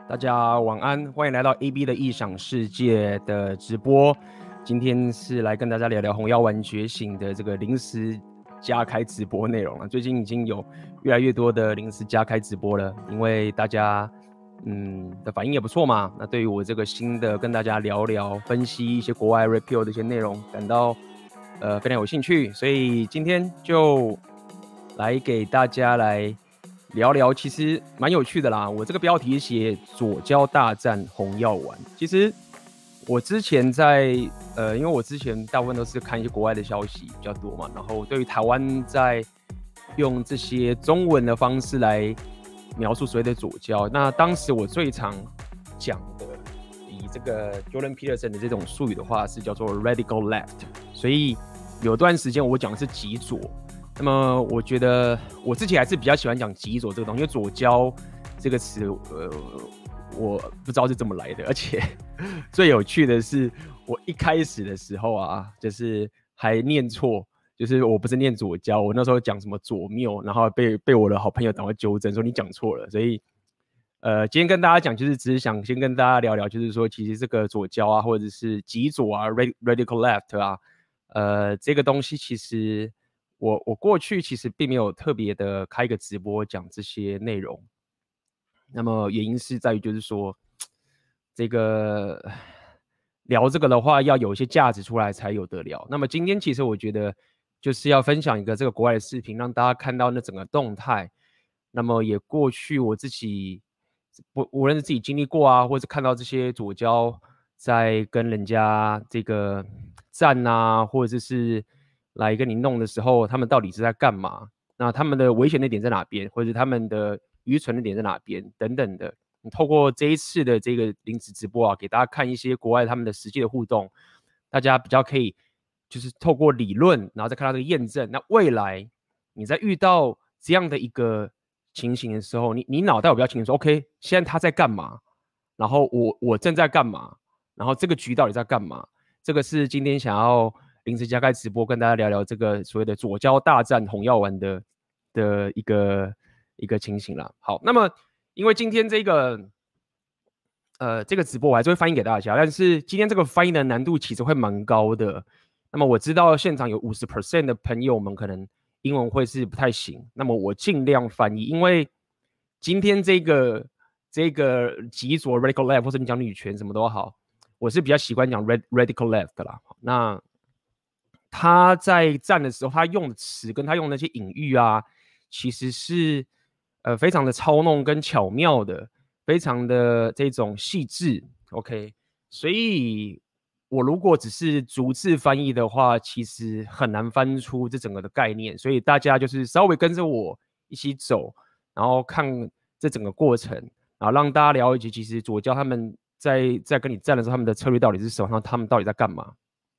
大家晚安，欢迎来到 AB 的异想世界的直播。今天是来跟大家聊聊红药丸觉醒的这个临时加开直播内容了。最近已经有越来越多的临时加开直播了，因为大家的反应也不错嘛。那对于我这个新的跟大家聊聊分析一些国外 repeal 的一些内容，感到非常有兴趣，所以今天就来给大家来聊聊，其实蛮有趣的啦。我这个标题写左交大战红药丸。其实我之前在因为我之前大部分都是看一些国外的消息比较多嘛，然后对于台湾在用这些中文的方式来描述所谓的左交，那当时我最常讲的，以这个 Jordan Peterson 的这种术语的话，是叫做 radical left， 所以有段时间我讲的是极左。那么我觉得我自己还是比较喜欢讲极左这个东西，因为左交这个词，我不知道是怎么来的，而且最有趣的是，我一开始的时候啊，就是还念错，就是我不是念左交，我那时候讲什么左谬，然后被我的好朋友赶快纠正说你讲错了，所以今天跟大家讲，就是只是想先跟大家聊聊，就是说其实这个左交啊，或者是极左啊 ，radical left 啊，这个东西其实。我过去其实并没有特别的开一个直播讲这些内容，那么原因是在于就是说，这个聊这个的话要有一些价值出来才有得聊。那么今天其实我觉得就是要分享一个这个国外的视频，让大家看到那整个动态。那么也过去我自己无论是自己经历过啊，或者看到这些左交在跟人家这个战啊，或者是来跟你弄的时候，他们到底是在干嘛？那他们的危险的点在哪边，或者他们的愚蠢的点在哪边等等的。你透过这一次的这个临时直播啊，给大家看一些国外他们的实际的互动，大家比较可以就是透过理论，然后再看到这个验证。那未来你在遇到这样的一个情形的时候，你脑袋有比较清楚说 ，OK， 现在他在干嘛？然后我正在干嘛？然后这个局到底在干嘛？这个是今天想要临时加开直播跟大家聊聊这个所谓的左交大战红药丸的一个情形啦。好，那么因为今天这个直播我还是会翻译给大家，但是今天这个翻译的难度其实会蛮高的。那么我知道现场有50% 的朋友们可能英文会是不太行，那么我尽量翻译，因为今天这个极左 radical left 或者你讲女权什么都好，我是比较习惯讲 radical left 的啦。那他在战的时候，他用的词跟他用的那些隐喻啊，其实是非常的操弄跟巧妙的，非常的这种细致。OK， 所以我如果只是逐字翻译的话，其实很难翻出这整个的概念。所以大家就是稍微跟着我一起走，然后看这整个过程，然后让大家了解，其实左交他们在跟你战的时候，他们的策略到底是什么，然后他们到底在干嘛。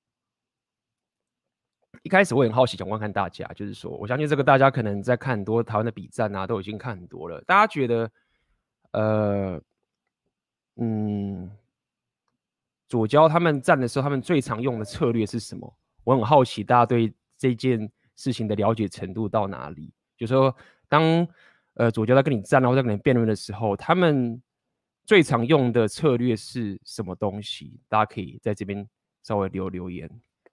一开始我很好奇，想问看大家，就是说，我相信这个大家可能在看很多台湾的比战啊，都已经看很多了。大家觉得，左交他们战的时候，他们最常用的策略是什么？我很好奇，大家对这件事情的了解程度到哪里？就是说，当左交在跟你战，然后在跟你辩论的时候，他们最常用的策略是什么东西？大家可以在这边稍微留言。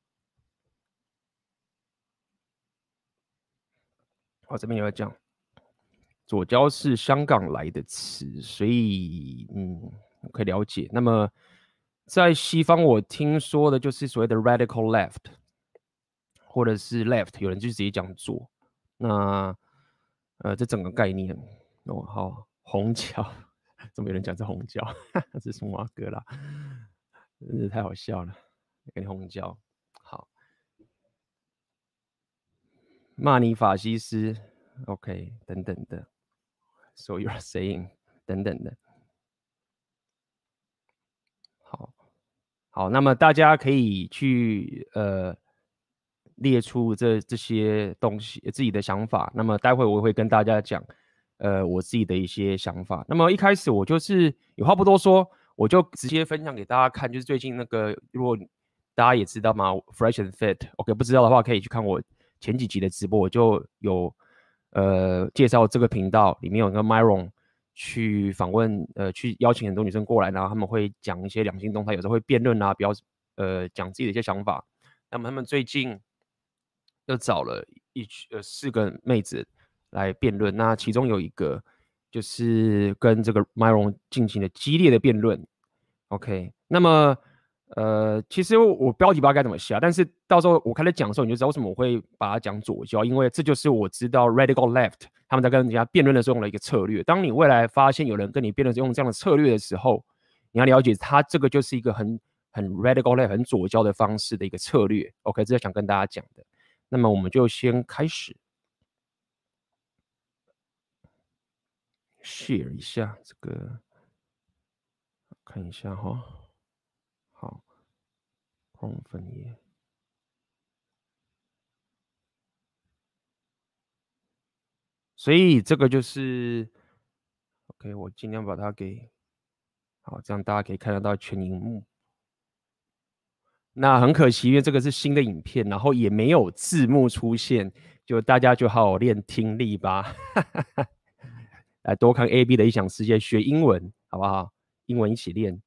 好，这边有讲，左交是香港来的词，所以可以了解。那么在西方，我听说的就是所谓的 radical left， 或者是 left， 有人就直接讲左。那这整个概念哦，好，红椒，怎么有人讲是红椒？这是什么歌啦？真是太好笑了，给你红椒。好，骂你法西斯 ，OK， 等等的。So you're saying 等等的，好，那么大家可以去列出这些东西自己的想法。那么待会我会跟大家讲我自己的一些想法。那么一开始我就是有话不多说，我就直接分享给大家看，就是最近那个，如果大家也知道嘛 ，Fresh and Fit，OK， 不知道的话可以去看我前几集的直播，我就有介绍这个频道，里面有一个 Myron 去访问，去邀请很多女生过来，然后他们会讲一些两性动态，有时候会辩论啊，讲自己的一些想法。那么他们最近又找了4个妹子来辩论，那其中有一个就是跟这个 Myron 进行了激烈的辩论。OK， 那么其实我标题不知道该怎么下，但是到时候我开始讲的时候，你就知道为什么我会把它讲左交，因为这就是我知道 Radical Left 他们在跟人家辩论的时候用的一个策略。当你未来发现有人跟你辩论用这样的策略的时候，你要了解他这个就是一个很 Radical Left 很左交的方式的一个策略。OK， 这是想跟大家讲的。那么我们就先开始 share 一下这个，看一下哈。好，Chrome 分页。所以这个就是 OK， 我尽量把它给好，这样大家可以看得到全荧幕。那很可惜，因为这个是新的影片，然后也没有字幕出现，就大家就好好练听力吧。来多看 AB 的异想世界，学英文好不好？英文一起练。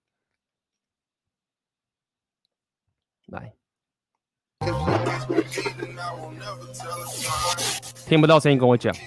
来，听不到声音跟我讲。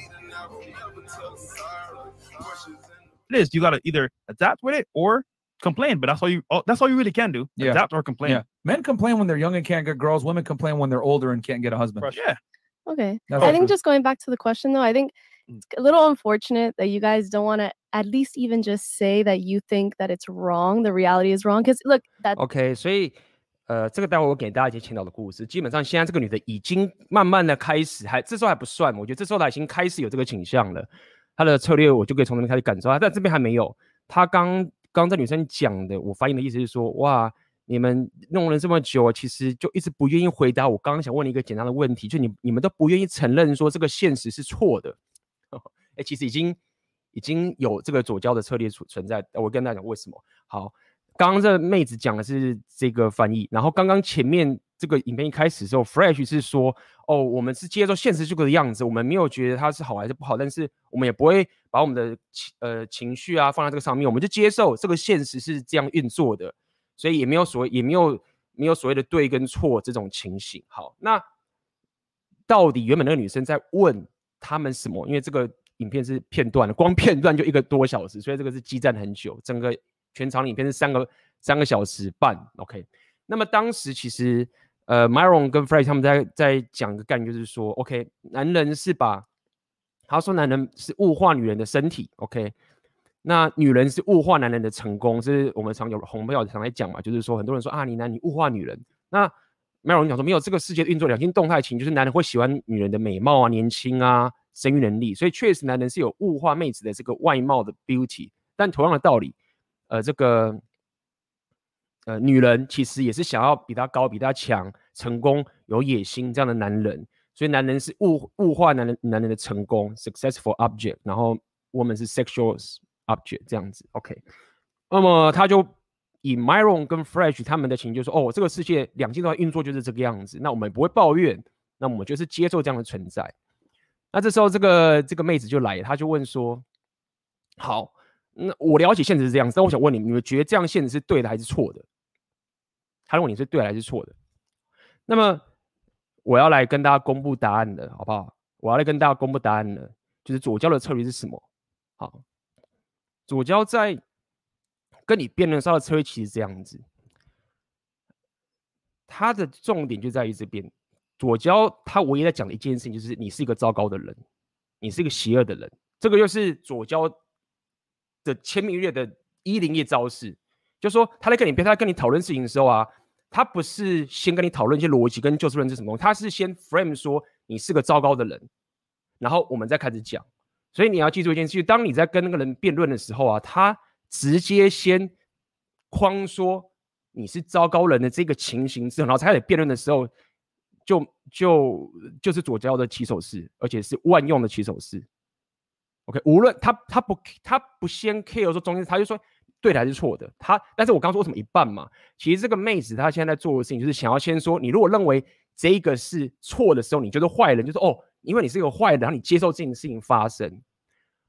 It is. You got to either adapt with it or complain, but that's all you really can do. Yeah. Adapt or complain. Yeah. Men complain when they're young and can't get girls. Women complain when they're older and can't get a husband. Yeah. Okay. That's I think true. just going back to the question though, I think it's a little unfortunate that you guys don't want to at least even just say that you think that it's wrong, the reality is wrong. Because look, that OK， 所以这个待会我给大家一些前导的故事。基本上现在这个女的已经慢慢的开始，这时候还不算，我觉得这时候她已经开始有这个倾向了。她的策略我就可以从那边开始感受，但这边还没有。她刚这女生讲的，我翻译的意思是说，哇，你们弄了这么久，其实就一直不愿意回答我刚刚想问你一个简单的问题，就你们都不愿意承认说这个现实是错的。其实已经有这个左交的策略存在。我跟大家讲为什么。好，刚刚这妹子讲的是这个翻译，然后刚刚前面这个影片一开始的时候 ，Fresh 是说，哦，我们是接受现实这个样子，我们没有觉得它是好还是不好，但是我们也不会把我们的情绪啊放在这个上面，我们就接受这个现实是这样运作的，所以也没有所谓的对跟错这种情形。好，那到底原本那个女生在问他们什么？因为这个影片是片段的，光片段就1个多小时，所以这个是激战很久，整个全长的影片是3个小时半。OK， 那么当时其实Myron 跟 Fresh 他们在讲一个概念，就是说 ，OK， 男人是他说男人是物化女人的身体 ，OK， 那女人是物化男人的成功，这是我们常有红票常来讲嘛，就是说很多人说啊，你物化女人，那 Myron 讲说没有，这个世界运作两性动态情，就是男人会喜欢女人的美貌啊、年轻啊、生育能力，所以确实男人是有物化妹子的这个外貌的 beauty， 但同样的道理，这个女人其实也是想要比他高、比他强、成功、有野心这样的男人，所以男人是物化男人的成功 successful object， 然后 woman 是 sexual object 这样子 ，OK， 那么他就以 Myron 跟 Fresh 他们的情就说，哦，这个世界两性动态运作就是这个样子，那我们不会抱怨，那我们就是接受这样的存在。那这时候这个妹子就来了，她就问说，好，那我了解现实是这样子，但我想问你们觉得这样现实是对的还是错的？他认为你是对的还是错的？那么我要来跟大家公布答案了，好不好？我要来跟大家公布答案了，就是左交的策略是什么？好，左交在跟你辩论上的策略其实这样子，它的重点就在于这边。左交他唯一在讲的一件事情就是你是一个糟糕的人，你是一个邪恶的人，这个就是左交的千面月的101页招式。就是说他在跟你讨论事情的时候啊，他不是先跟你讨论一些逻辑跟就事论事什么东西，他是先 frame 说你是个糟糕的人，然后我们再开始讲。所以你要记住一件事，当你在跟那个人辩论的时候啊，他直接先框说你是糟糕人的这个情形之后，然后才开始辩论的时候，就是左交的起手式，而且是万用的起手式。OK， 无论他不先 care 说中间，他就说对的还是错的。但是我刚说为什么一半嘛？其实这个妹子她现在在做的事情就是想要先说，你如果认为这个是错的时候，你就是坏人，就是哦，因为你是一个坏人，然后你接受这件事情发生。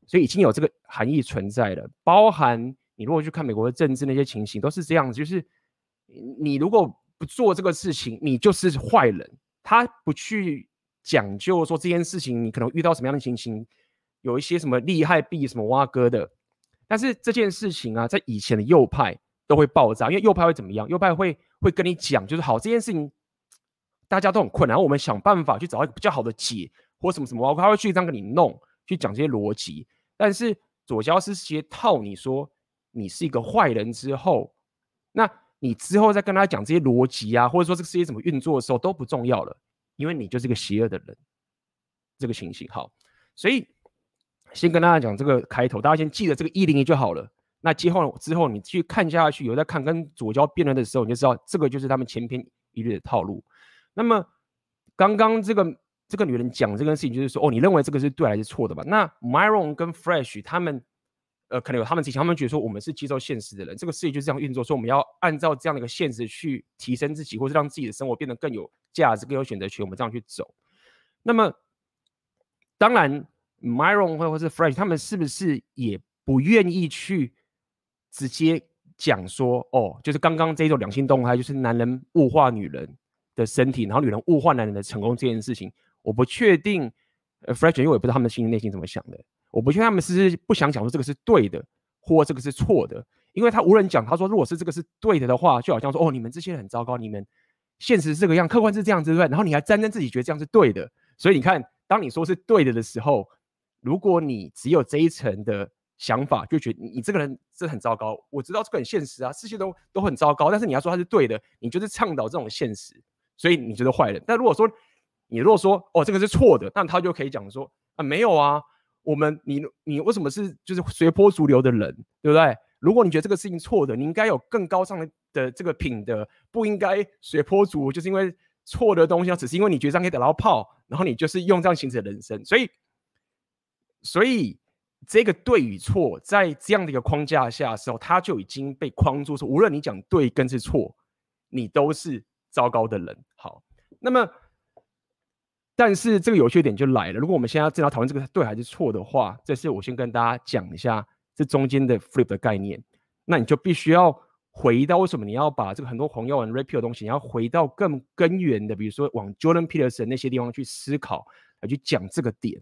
所以已经有这个含义存在了。包含你如果去看美国的政治那些情形，都是这样子，就是你如果不做这个事情，你就是坏人。他不去讲究说这件事情你可能遇到什么样的情形，有一些什么利害弊什么挖哥的。但是这件事情啊，在以前的右派都会爆炸，因为右派会怎么样？右派会跟你讲，就是好，这件事情大家都很困难，然后我们想办法去找一个比较好的解，或什么什么，他会去这样跟你弄，去讲这些逻辑。但是左交是直接套你说你是一个坏人之后，那你之后再跟他讲这些逻辑啊，或者说这个世界怎么运作的时候都不重要了，因为你就是一个邪恶的人。这个情形好，所以先跟大家讲这个开头，大家先记得这个101就好了。那之后你去看下去，有在看跟左交辩论的时候，你就知道这个就是他们千篇一律的套路。那么刚刚这个女人讲这件事情，就是说哦，你认为这个是对还是错的吧？那 Myron 跟 Fresh 他们可能有他们自己，他们觉得说我们是接受现实的人，这个世界就是这样运作，说我们要按照这样的一个现实去提升自己，或是让自己的生活变得更有价值、更有选择权，我们这样去走。那么当然 Myron 或是 Fresh 他们是不是也不愿意去直接讲说哦，就是刚刚这种两性动态，就是男人物化女人的身体，然后女人物化男人的成功这件事情，我不确定Fresh 因为我也不知道他们心里内心怎么想的，我不确定他们是不想讲说这个是对的，或这个是错的，因为他无人讲，他说如果是这个是对的话，就好像说哦，你们这些人很糟糕，你们现实是这个样，客观是这样子，对不对？然后你还沾沾自喜觉得这样是对的，所以你看，当你说是对的时候，如果你只有这一层的想法，就觉得你这个人真的很糟糕。我知道这个很现实啊，世界都很糟糕，但是你要说它是对的，你就是倡导这种现实，所以你就是坏人。但如果说哦这个是错的，那他就可以讲说啊没有啊，你为什么是就是随波逐流的人，对不对？如果你觉得这个事情错的，你应该有更高尚的这个品德，不应该随波逐流，就是因为错的东西，只是因为你觉得这样可以得到炮，然后你就是用这样行使的人生。所以这个对与错，在这样的一个框架下的时候，它就已经被框住，说无论你讲对跟是错，你都是糟糕的人。好，那么但是这个有趣点就来了，如果我们现在正要讨论这个对还是错的话，这是我先跟大家讲一下这中间的 flip 的概念。那你就必须要回到为什么你要把这个很多黄药丸 repeal 的东西，你要回到更根源的，比如说往 Jordan Peterson 那些地方去思考，来去讲这个点。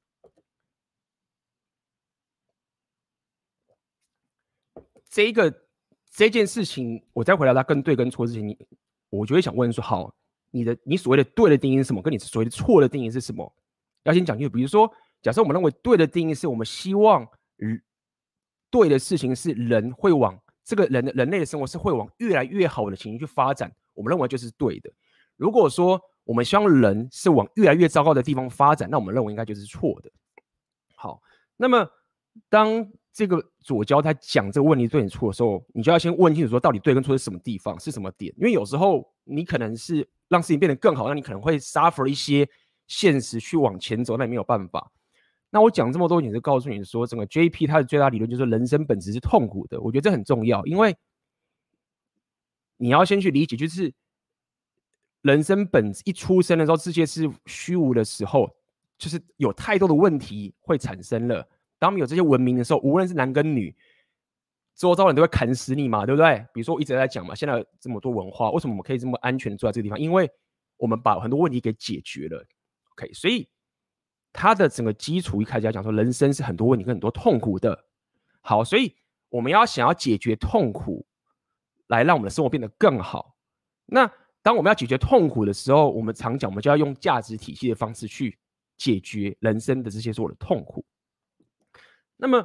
这件事情，我再回来它跟对跟错之前，我就会想问说，好，你所谓的对的定义是什么？跟你所谓的错的定义是什么？要先讲清楚。比如说，假设我们认为对的定义是我们希望对的事情是人会往这个人类的生活是会往越来越好的情形去发展，我们认为就是对的。如果说我们希望人是往越来越糟糕的地方发展，那我们认为应该就是错的。好，那么当这个左交他讲这个问题对你错的时候，你就要先问清楚说到底对跟错是什么地方，是什么点？因为有时候你可能是让事情变得更好，那你可能会 suffer 一些现实去往前走，那你没有办法。那我讲这么多，也是告诉你说，整个 JP 它的最大理论就是人生本质是痛苦的。我觉得这很重要，因为你要先去理解，就是人生本质一出生的时候，世界是虚无的时候，就是有太多的问题会产生了。当我们有这些文明的时候，无论是男跟女，周遭人都会砍死你嘛，对不对？比如说我一直在讲嘛，现在有这么多文化，为什么我们可以这么安全的住在这个地方？因为我们把很多问题给解决了。OK， 所以它的整个基础一开始要讲说，人生是很多问题跟很多痛苦的。好，所以我们想要解决痛苦，来让我们的生活变得更好。那当我们要解决痛苦的时候，我们常讲，我们就要用价值体系的方式去解决人生的这些所有的痛苦。那么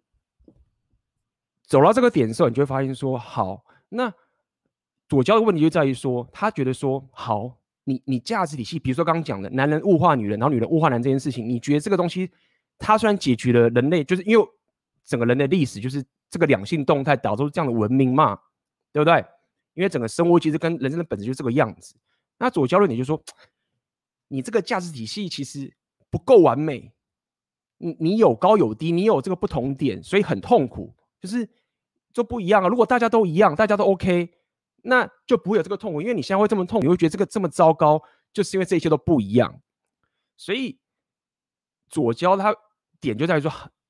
走到这个点的时候，你就会发现说，好，那左交的问题就在于说，他觉得说，好，你价值体系，比如说刚刚讲的男人物化女人，然后女人物化男人这件事情，你觉得这个东西，它虽然解决了人类，就是因为整个人类历史就是这个两性动态导致这样的文明嘛，对不对？因为整个生活其实跟人生的本质就是这个样子。那左交论点就说，你这个价值体系其实不够完美。你有高有低，你有这个不同点，所以很痛苦，就不一样啊。如果大家都一样，大家都 OK， 那就不会有这个痛苦。因为你现在会这么痛苦，你会觉得这个这么糟糕，就是因为这一切都不一样。所以左交他点就在于说，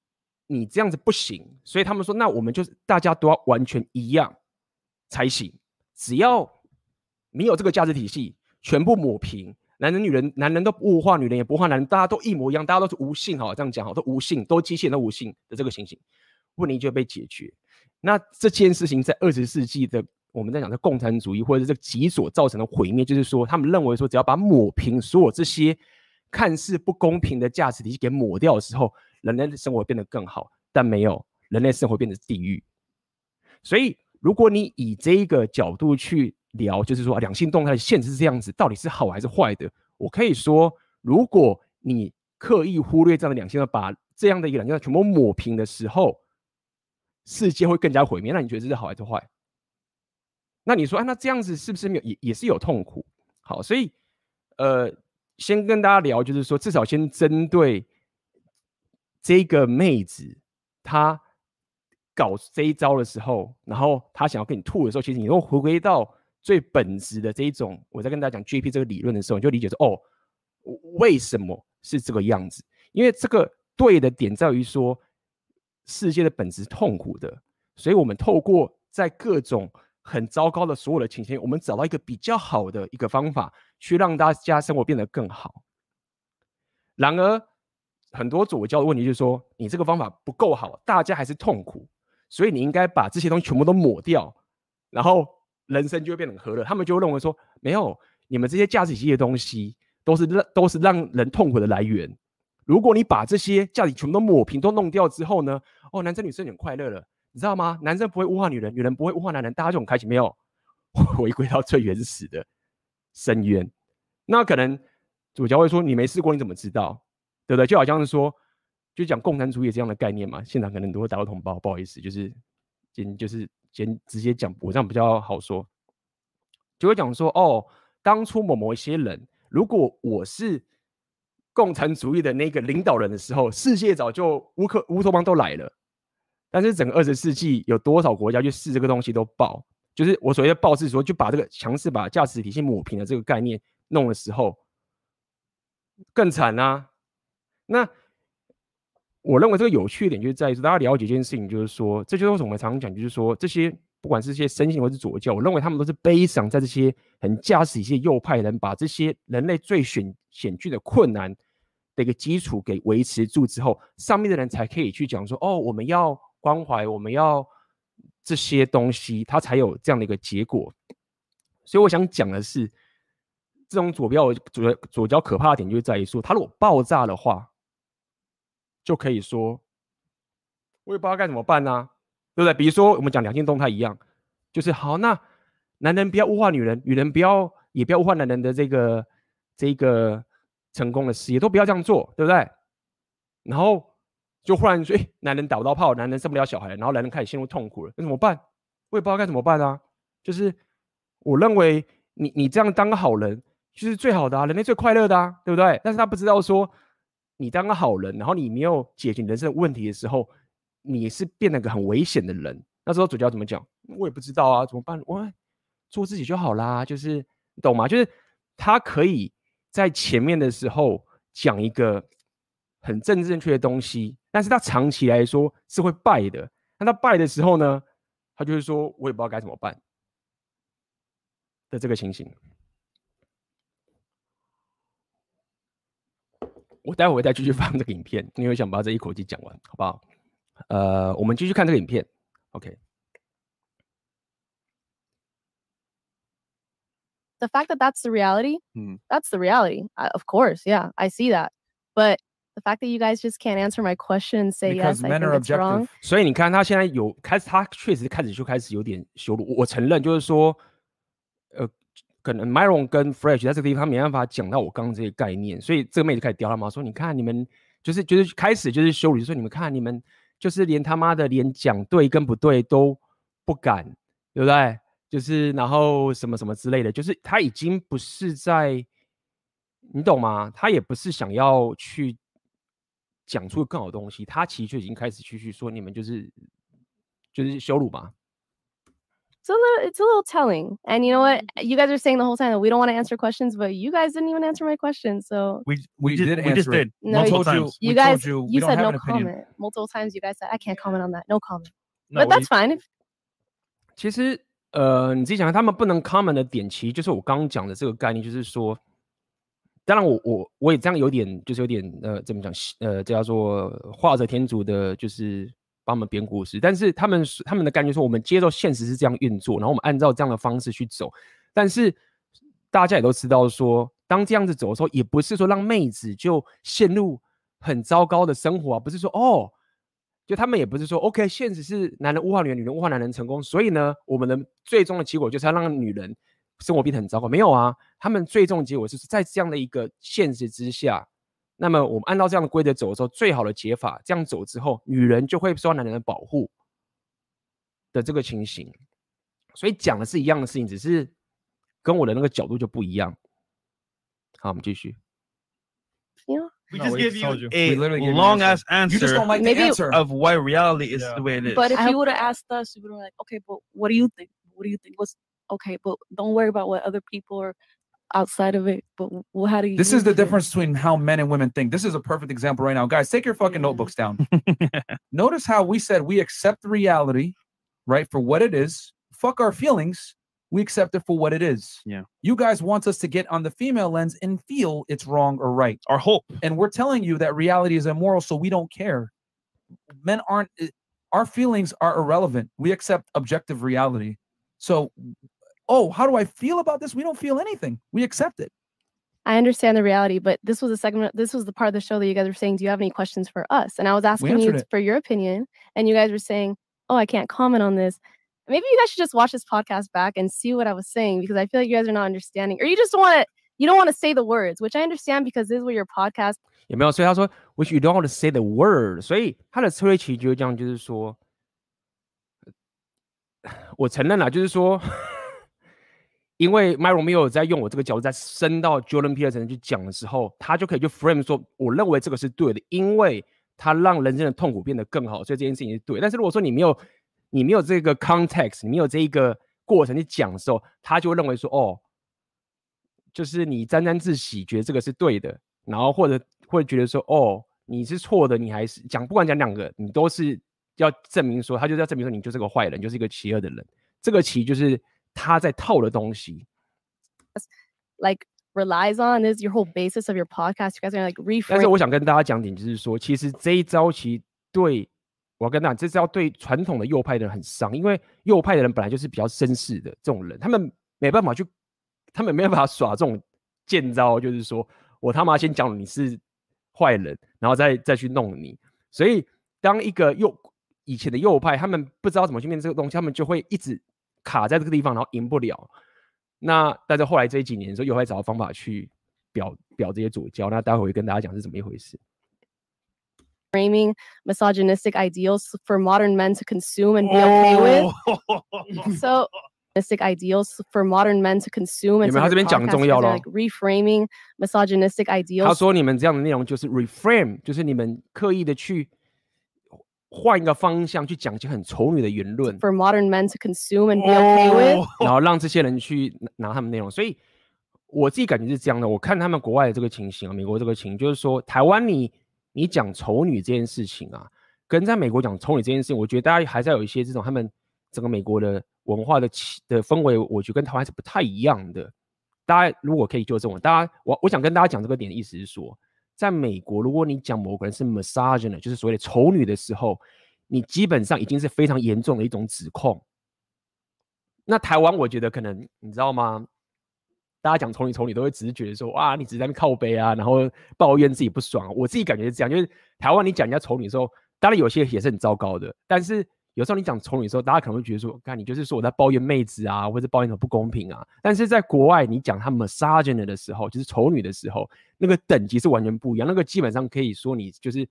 你这样子不行，所以他们说，那我们就是大家都要完全一样才行。只要你有这个价值体系，全部抹平，男人女人，男人都不物化，女人也不物化男人，大家都一模一样，大家都是无性，好，这样讲好，都无性，都机器人都无性的这个情形，问题就被解决。那这件事情在20世纪的我们在讲的共产主义或者是这个极左造成的毁灭，就是说他们认为说，只要把抹平所有这些看似不公平的价值体系给抹掉的时候，人类的生活变得更好，但没有，人类生活变成地狱。所以如果你以这一个角度去聊，就是说两性动态的现实是这样子，到底是好还是坏的？我可以说，如果你刻意忽略这样的两性，把这样的一个两性全部抹平的时候，世界会更加毁灭。那你觉得这是好还是坏？那你说，那这样子是不是没有 也是有痛苦？好，所以先跟大家聊，就是说至少先针对这个妹子，她搞这一招的时候，然后她想要跟你吐的时候，其实你又回归到最本质的这一种，我在跟大家讲 JP 这个理论的时候，你就理解说，哦，为什么是这个样子？因为这个对的点在于说，世界的本质是痛苦的，所以我们透过在各种很糟糕的所有的情形，我们找到一个比较好的一个方法，去让大家生活变得更好。然而，很多左教的问题就是说，你这个方法不够好，大家还是痛苦，所以你应该把这些东西全部都抹掉，然后人生就会变得很和乐。他们就会认为说，没有，你们这些价值体系的东西都是让人痛苦的来源。如果你把这些价值全部都抹平、都弄掉之后呢，哦，男生女生很快乐了，你知道吗？男生不会物化女人，女人不会物化男人，大家就很开心。没有，回归到最原始的深渊。那可能主教会说，你没试过你怎么知道？对不对？就好像是说，就讲共产主义这样的概念嘛。现场可能都会打到同胞，不好意思，就是先直接讲，我这样比较好说。就会讲说，哦，当初某一些人，如果我是共产主义的那个领导人的时候，世界早就乌托邦都来了。但是整个20世纪有多少国家去试这个东西都爆，就是我所谓的爆是说，就把这个强势把价值体系抹平的这个概念弄的时候，更惨啊。那我认为这个有趣的点就是在于说，大家了解一件事情，就是说，这就是为什么我们常常讲，就是说这些不管是这些深信或是左教，我认为他们都是悲伤在这些很价值体系右派人把这些人类最险峻的困难的一个基础给维持住之后，上面的人才可以去讲说，哦，我们要关怀，我们要这些东西，它才有这样的一个结果。所以我想讲的是，这种左教可怕的点就在于说，它如果爆炸的话，就可以说，我也不知道该怎么办啊，对不对？比如说我们讲两性动态一样，就是好，那男人不要物化女人，女人也不要物化男人的这个成功的事业，都不要这样做，对不对？然后就忽然说，男人打不到炮，男人生不了小孩，然后男人开始陷入痛苦了，那怎么办？我也不知道该怎么办啊。就是我认为你这样当个好人就是最好的啊，人类最快乐的啊，对不对？但是他不知道说，你当个好人，然后你没有解决人生的问题的时候，你是变得个很危险的人。那时候主教怎么讲？我也不知道啊，怎么办？我做自己就好啦，就是你懂吗？就是他可以在前面的时候讲一个很政治正确的东西，但是他长期来说是会败的。那他败的时候呢，他就会说我也不知道该怎么办的这个情形。我待会会再继续放这个影片，因为想把这一口气讲完，好不好？我们继续看这个影片 ，OK。 The fact that that's the reality, Hmm. that's the reality. Of course, yeah, I see that. But the fact that you guys just can't answer my question and say Because yes, I men think are it's wrong. objective. 所以你看，他现在他确实开始有点羞辱。我承认，就是说，可能 Myron 跟 Fresh 在这个地方他没办法讲到我刚刚这些概念，所以这个妹子开始刁他嘛，说你看你们就是开始就是羞辱，就说你们看你们就是连他妈的连讲对跟不对都不敢，对不对？就是然后什么什么之类的，就是他已经不是在，你懂吗？他也不是想要去讲出更好的东西，他其实就已经开始去说你们就是羞辱嘛。 it's a little telling. And you know what? You guys are saying the whole time that we don't want to answer questions, but you guys didn't even answer my question. So We just did answer it. did No, We you- told multiple you. times. We guys, told you. We you don't said have no an opinion. comment. Multiple times you guys said I can't comment on that. No comment. No, But that's fine. If 其实你自己想，他们不能 comment 的点，其实就是我刚刚讲的这个概念，就是说，当然我也这样有点就是有点怎么讲这叫做画蛇添足的，就是帮我们编故事。但是他们的概念说，我们接受现实是这样运作，然后我们按照这样的方式去走。但是大家也都知道说，当这样子走的时候，也不是说让妹子就陷入很糟糕的生活啊，不是说哦。就他们也不是说 OK， 现实是男人物化女人，女人物化男人成功，所以呢，我们的最终的结果就是要让女人生活变得很糟糕。没有啊，他们最终的结果是在这样的一个现实之下，那么我们按照这样的规则走的时候，最好的解法，这样走之后，女人就会受到男人的保护的这个情形。所以讲的是一样的事情，只是跟我的那个角度就不一样。好，我们继续。 We No, just we gave just you told you. We a literally gave you an long answer. ass You just answer don't like Maybe- the answer. of why reality is Yeah. the way it is. But if I you would have asked us, we would have like, okay, but what do you think? What do you think? What's okay? But don't worry about what other people are outside of it. But how do you? This is the feel? difference between how men and women think. This is a perfect example right now. Guys, take your fucking notebooks down. Notice how we said we accept the reality, right, for what it is. Fuck our feelings. We accept it for what it is. Yeah. You guys want us to get on the female lens and feel it's wrong or right. Our hope. And we're telling you that reality is immoral, so we don't care. Men aren't, our feelings are irrelevant. We accept objective reality. So, oh, how do I feel about this? We don't feel anything. We accept it. I understand the reality, but this was a segment. This was the part of the show that you guys were saying, "Do you have any questions for us?" And I was asking you answered it. for your opinion, and you guys were saying, "Oh, I can't comment on this." Maybe you guys should just watch this podcast back and see what I was saying, because I feel like you guys are not understanding, or you just don't want to. You don't want to say the words, which I understand because this is what your podcast. 有没有？所以他说 ，which you don't want to say the word。所以他的策略其实就是这样，就是说，我承认了，就是说，因为 My Romeo 在用我这个角度在升到 Jordan Peterson 去讲的时候，他就可以去 frame 说，我认为这个是对的，因为他让人生的痛苦变得更好，所以这件事情是对。但是如果说你没有这个 context， 你没有这一个过程去讲的时候，他就会认为说，哦，就是你沾沾自喜，觉得这个是对的，然后或者会觉得说，哦，你是错的，你还是讲，不管讲两个，你都是要证明说，他就是要证明说你就是个坏人，就是一个邪恶的人。这个其实就是他在套的东西。 like relies on this your whole basis of your podcast. You guys are like 但是 reframe. 我想跟大家讲点，就是说，其实这一招其实对我要跟大家讲，这招对传统的右派的人很伤，因为右派的人本来就是比较绅士的这种人，他们没办法耍这种贱招，就是说我他妈先讲你是坏人，然后再去弄你。所以当一个以前的右派，他们不知道怎么去面对这个东西，他们就会一直卡在这个地方，然后赢不了。那但是后来这几年的时候，右派找到方法去表这些左交，那待会会跟大家讲是怎么一回事。 Framing misogynistic ideals for modern men to consume and be okay with. So, misogynistic ideals for modern men to consume and 有没有？他这边讲很重要咯。 like reframing misogynistic 他 ideals. 说你们这样的内容就是 reframe， 就是你们刻意的去换一个方向去讲一些很丑女的言论， For modern men to consume and be okay with. 然后让这些人去拿他们内容。所以我自己感觉是这样的。我看他们国外的这个情形啊，美国这个情形，就是说台湾你讲丑女这件事情啊，跟在美国讲丑女这件事情，我觉得大家还是要有一些这种他们整个美国的文化的氛围，我觉得跟台湾是不太一样的。大家如果可以纠正我，我想跟大家讲这个点的意思是说，在美国，如果你讲某个人是 misogynist， 就是所谓的丑女的时候，你基本上已经是非常严重的一种指控。那台湾我觉得可能你知道吗？大家讲丑女都会只是觉得说，哇，你只是在那边靠背啊，然后抱怨自己不爽。我自己感觉是这样，就是台湾你讲人家丑女的时候，当然有些也是很糟糕的，但是有时候你讲丑女的时候，大家可能会觉得说，看你就是说我在抱怨妹子啊，或者抱怨什么不公平啊。但是在国外，你讲他 misogynist 的时候，就是丑女的时候，那个等级是完全不一样，那个基本上可以说你就是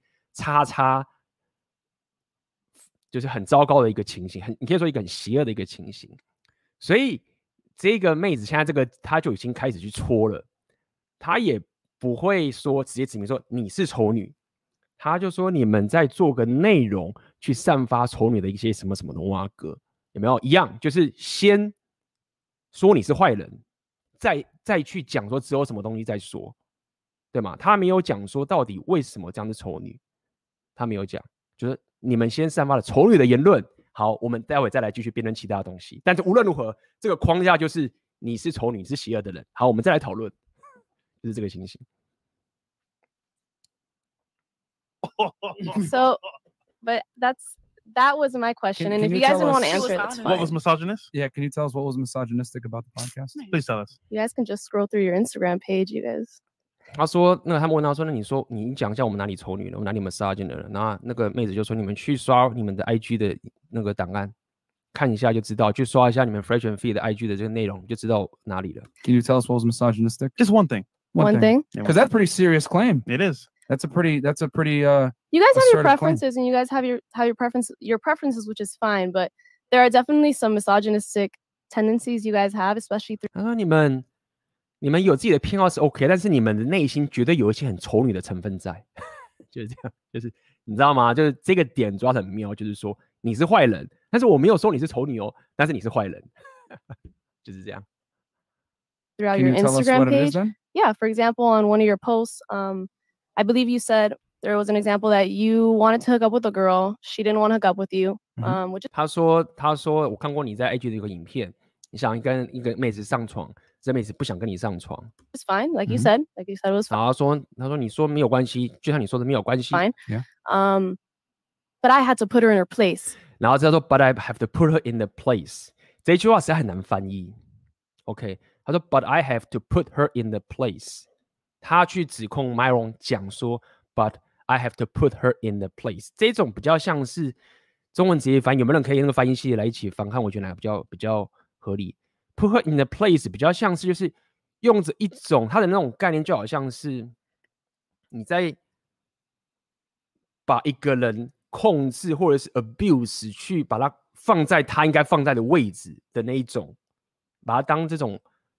就是很糟糕的一个情形，你可以说一个很邪恶的一个情形。所以这个妹子现在她就已经开始去戳了，她也不会说直接指明说你是丑女，她就说你们在做个内容去散发丑女的一些什么什么的蛙歌，有有没有一样？就是先说你是坏人，再去讲说只有什么东西再说，对吗？他没有讲说到底为什么这样是丑女，他没有讲，就是你们先散发了丑女的言论。好，我们待会再来继续辩论其他的东西。但是无论如何，这个框架就是你是丑女，你是邪恶的人。好，我们再来讨论，就是这个情形。 So, but that was my question. And if can you you guys tell didn't want to us- answer it, that's What fine. was misogynist? Yeah, can you tell us what was misogynistic about the podcast? Please tell us. You guys can just scroll through your Instagram page, you guys. 他说，他们问他说，那你讲一下我们哪里丑女了，我们哪里 misogyn 了？那个妹子就说，你们去刷你们的 IG 的那个档案，看一下就知道，去刷一下你们 Fresh and Fit 的 IG 的这个内容，就知道哪里了。 Can you tell us what was misogynistic? Just one thing. One thing. Because that's a pretty serious claim. It is. That's a pretty You guys have assertive your claim. preferences, and you guys have your preferences, which is fine. But there are definitely some misogynistic tendencies you guys have, especially through. 他说你们有自己的偏好是 OK， 但是你们的内心绝对有一些很丑女的成分在，就是这样，就是你知道吗？就是这个点抓得很妙，就是说你是坏人，但是我没有说你是丑女哦，但是你是坏人，就是这样。 throughout Can your you tell us Instagram what it is page. then? Yeah, for example, on one of your posts, I believe you said there was an example that you wanted to hook up with a girl, she didn't want to hook up with you, which is 他说我看过你在 IG 的一个影片，你想跟一个妹子上床，这妹子不想跟你上床， fine, like you Mhm. said, it was 然后他说你说没有关系，就像你说的没有关系， fine. Yeah. But I had to put her in her place. 然后他说 But I have to put her in the place， 这句话实在很难翻译。OK， 他说 But I have to put her in the place， 他去指控 Myron 讲说 But I have to put her in the place， 这种比较像是中文直接翻译，有没有人可以那个翻译系来一起翻看？我觉得哪个比较合理？Put her in the place 比较像是就是用着一种它的那种概念，就好像是你在把一个人控制或者是 abuse 去把它放在他应该放在的位置的那一种，把它当这种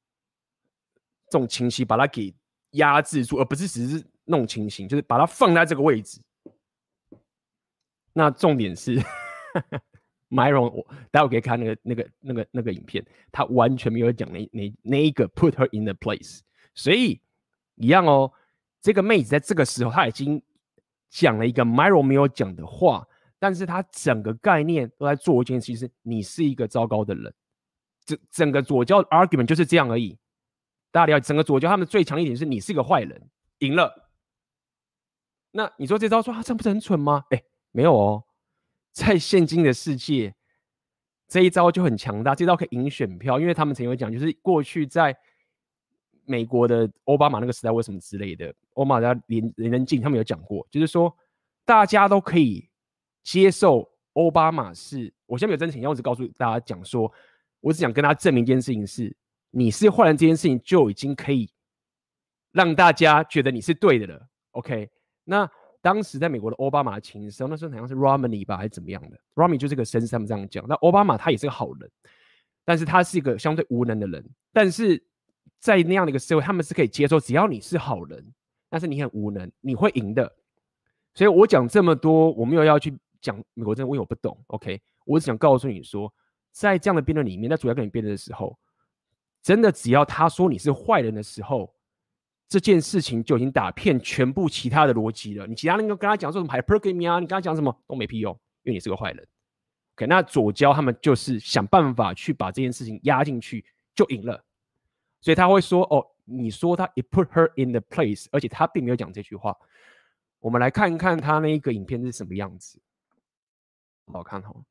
情形把它给压制住，而不是只是那种情形，就是把它放在这个位置。那重点是Myron， 我待会可以看那个影片，他完全没有讲那一个 put her in the place， 所以一样哦，这个妹子在这个时候她已经讲了一个 Myron 没有讲的话，但是她整个概念都在做一件事情，是你是一个糟糕的人。整个左教 argument 就是这样而已。大家了解，整个左教他们最强烈一点是你是个坏人，赢了。那你说这招说这样不是很蠢吗？没有哦，在现今的世界，这一招就很强大，这招可以赢选票，因为他们曾经有讲，就是过去在美国的奥巴马那个时代，为什么之类的，奥巴马在连任近，他们有讲过，就是说大家都可以接受奥巴马是，我现在没有真情，我只告诉大家讲说，我只想跟他证明一件事情是，你是坏人这件事情就已经可以让大家觉得你是对的了。OK， 那当时在美国的奥巴马的情势，那时候好像是 Romney 吧，还是怎么样的 ？Romney 就是个绅士，他们这样讲。那奥巴马他也是个好人，但是他是一个相对无能的人。但是在那样的一个社会，他们是可以接受，只要你是好人，但是你很无能，你会赢的。所以我讲这么多，我没有要去讲美国政治，因为我不懂。OK， 我只想告诉你说，在这样的辩论里面，在主要跟你辩论的时候，真的只要他说你是坏人的时候，这件事情就已经打遍全部其他的逻辑了。你其他人跟他讲说什么 hypergamy 啊，你跟他讲什么都没屁用，因为你是个坏人。OK， 那左交他们就是想办法去把这件事情压进去，就赢了。所以他会说，哦，你说他 it put her in the place， 而且他并没有讲这句话。我们来看一看他那一个影片是什么样子，好看哦。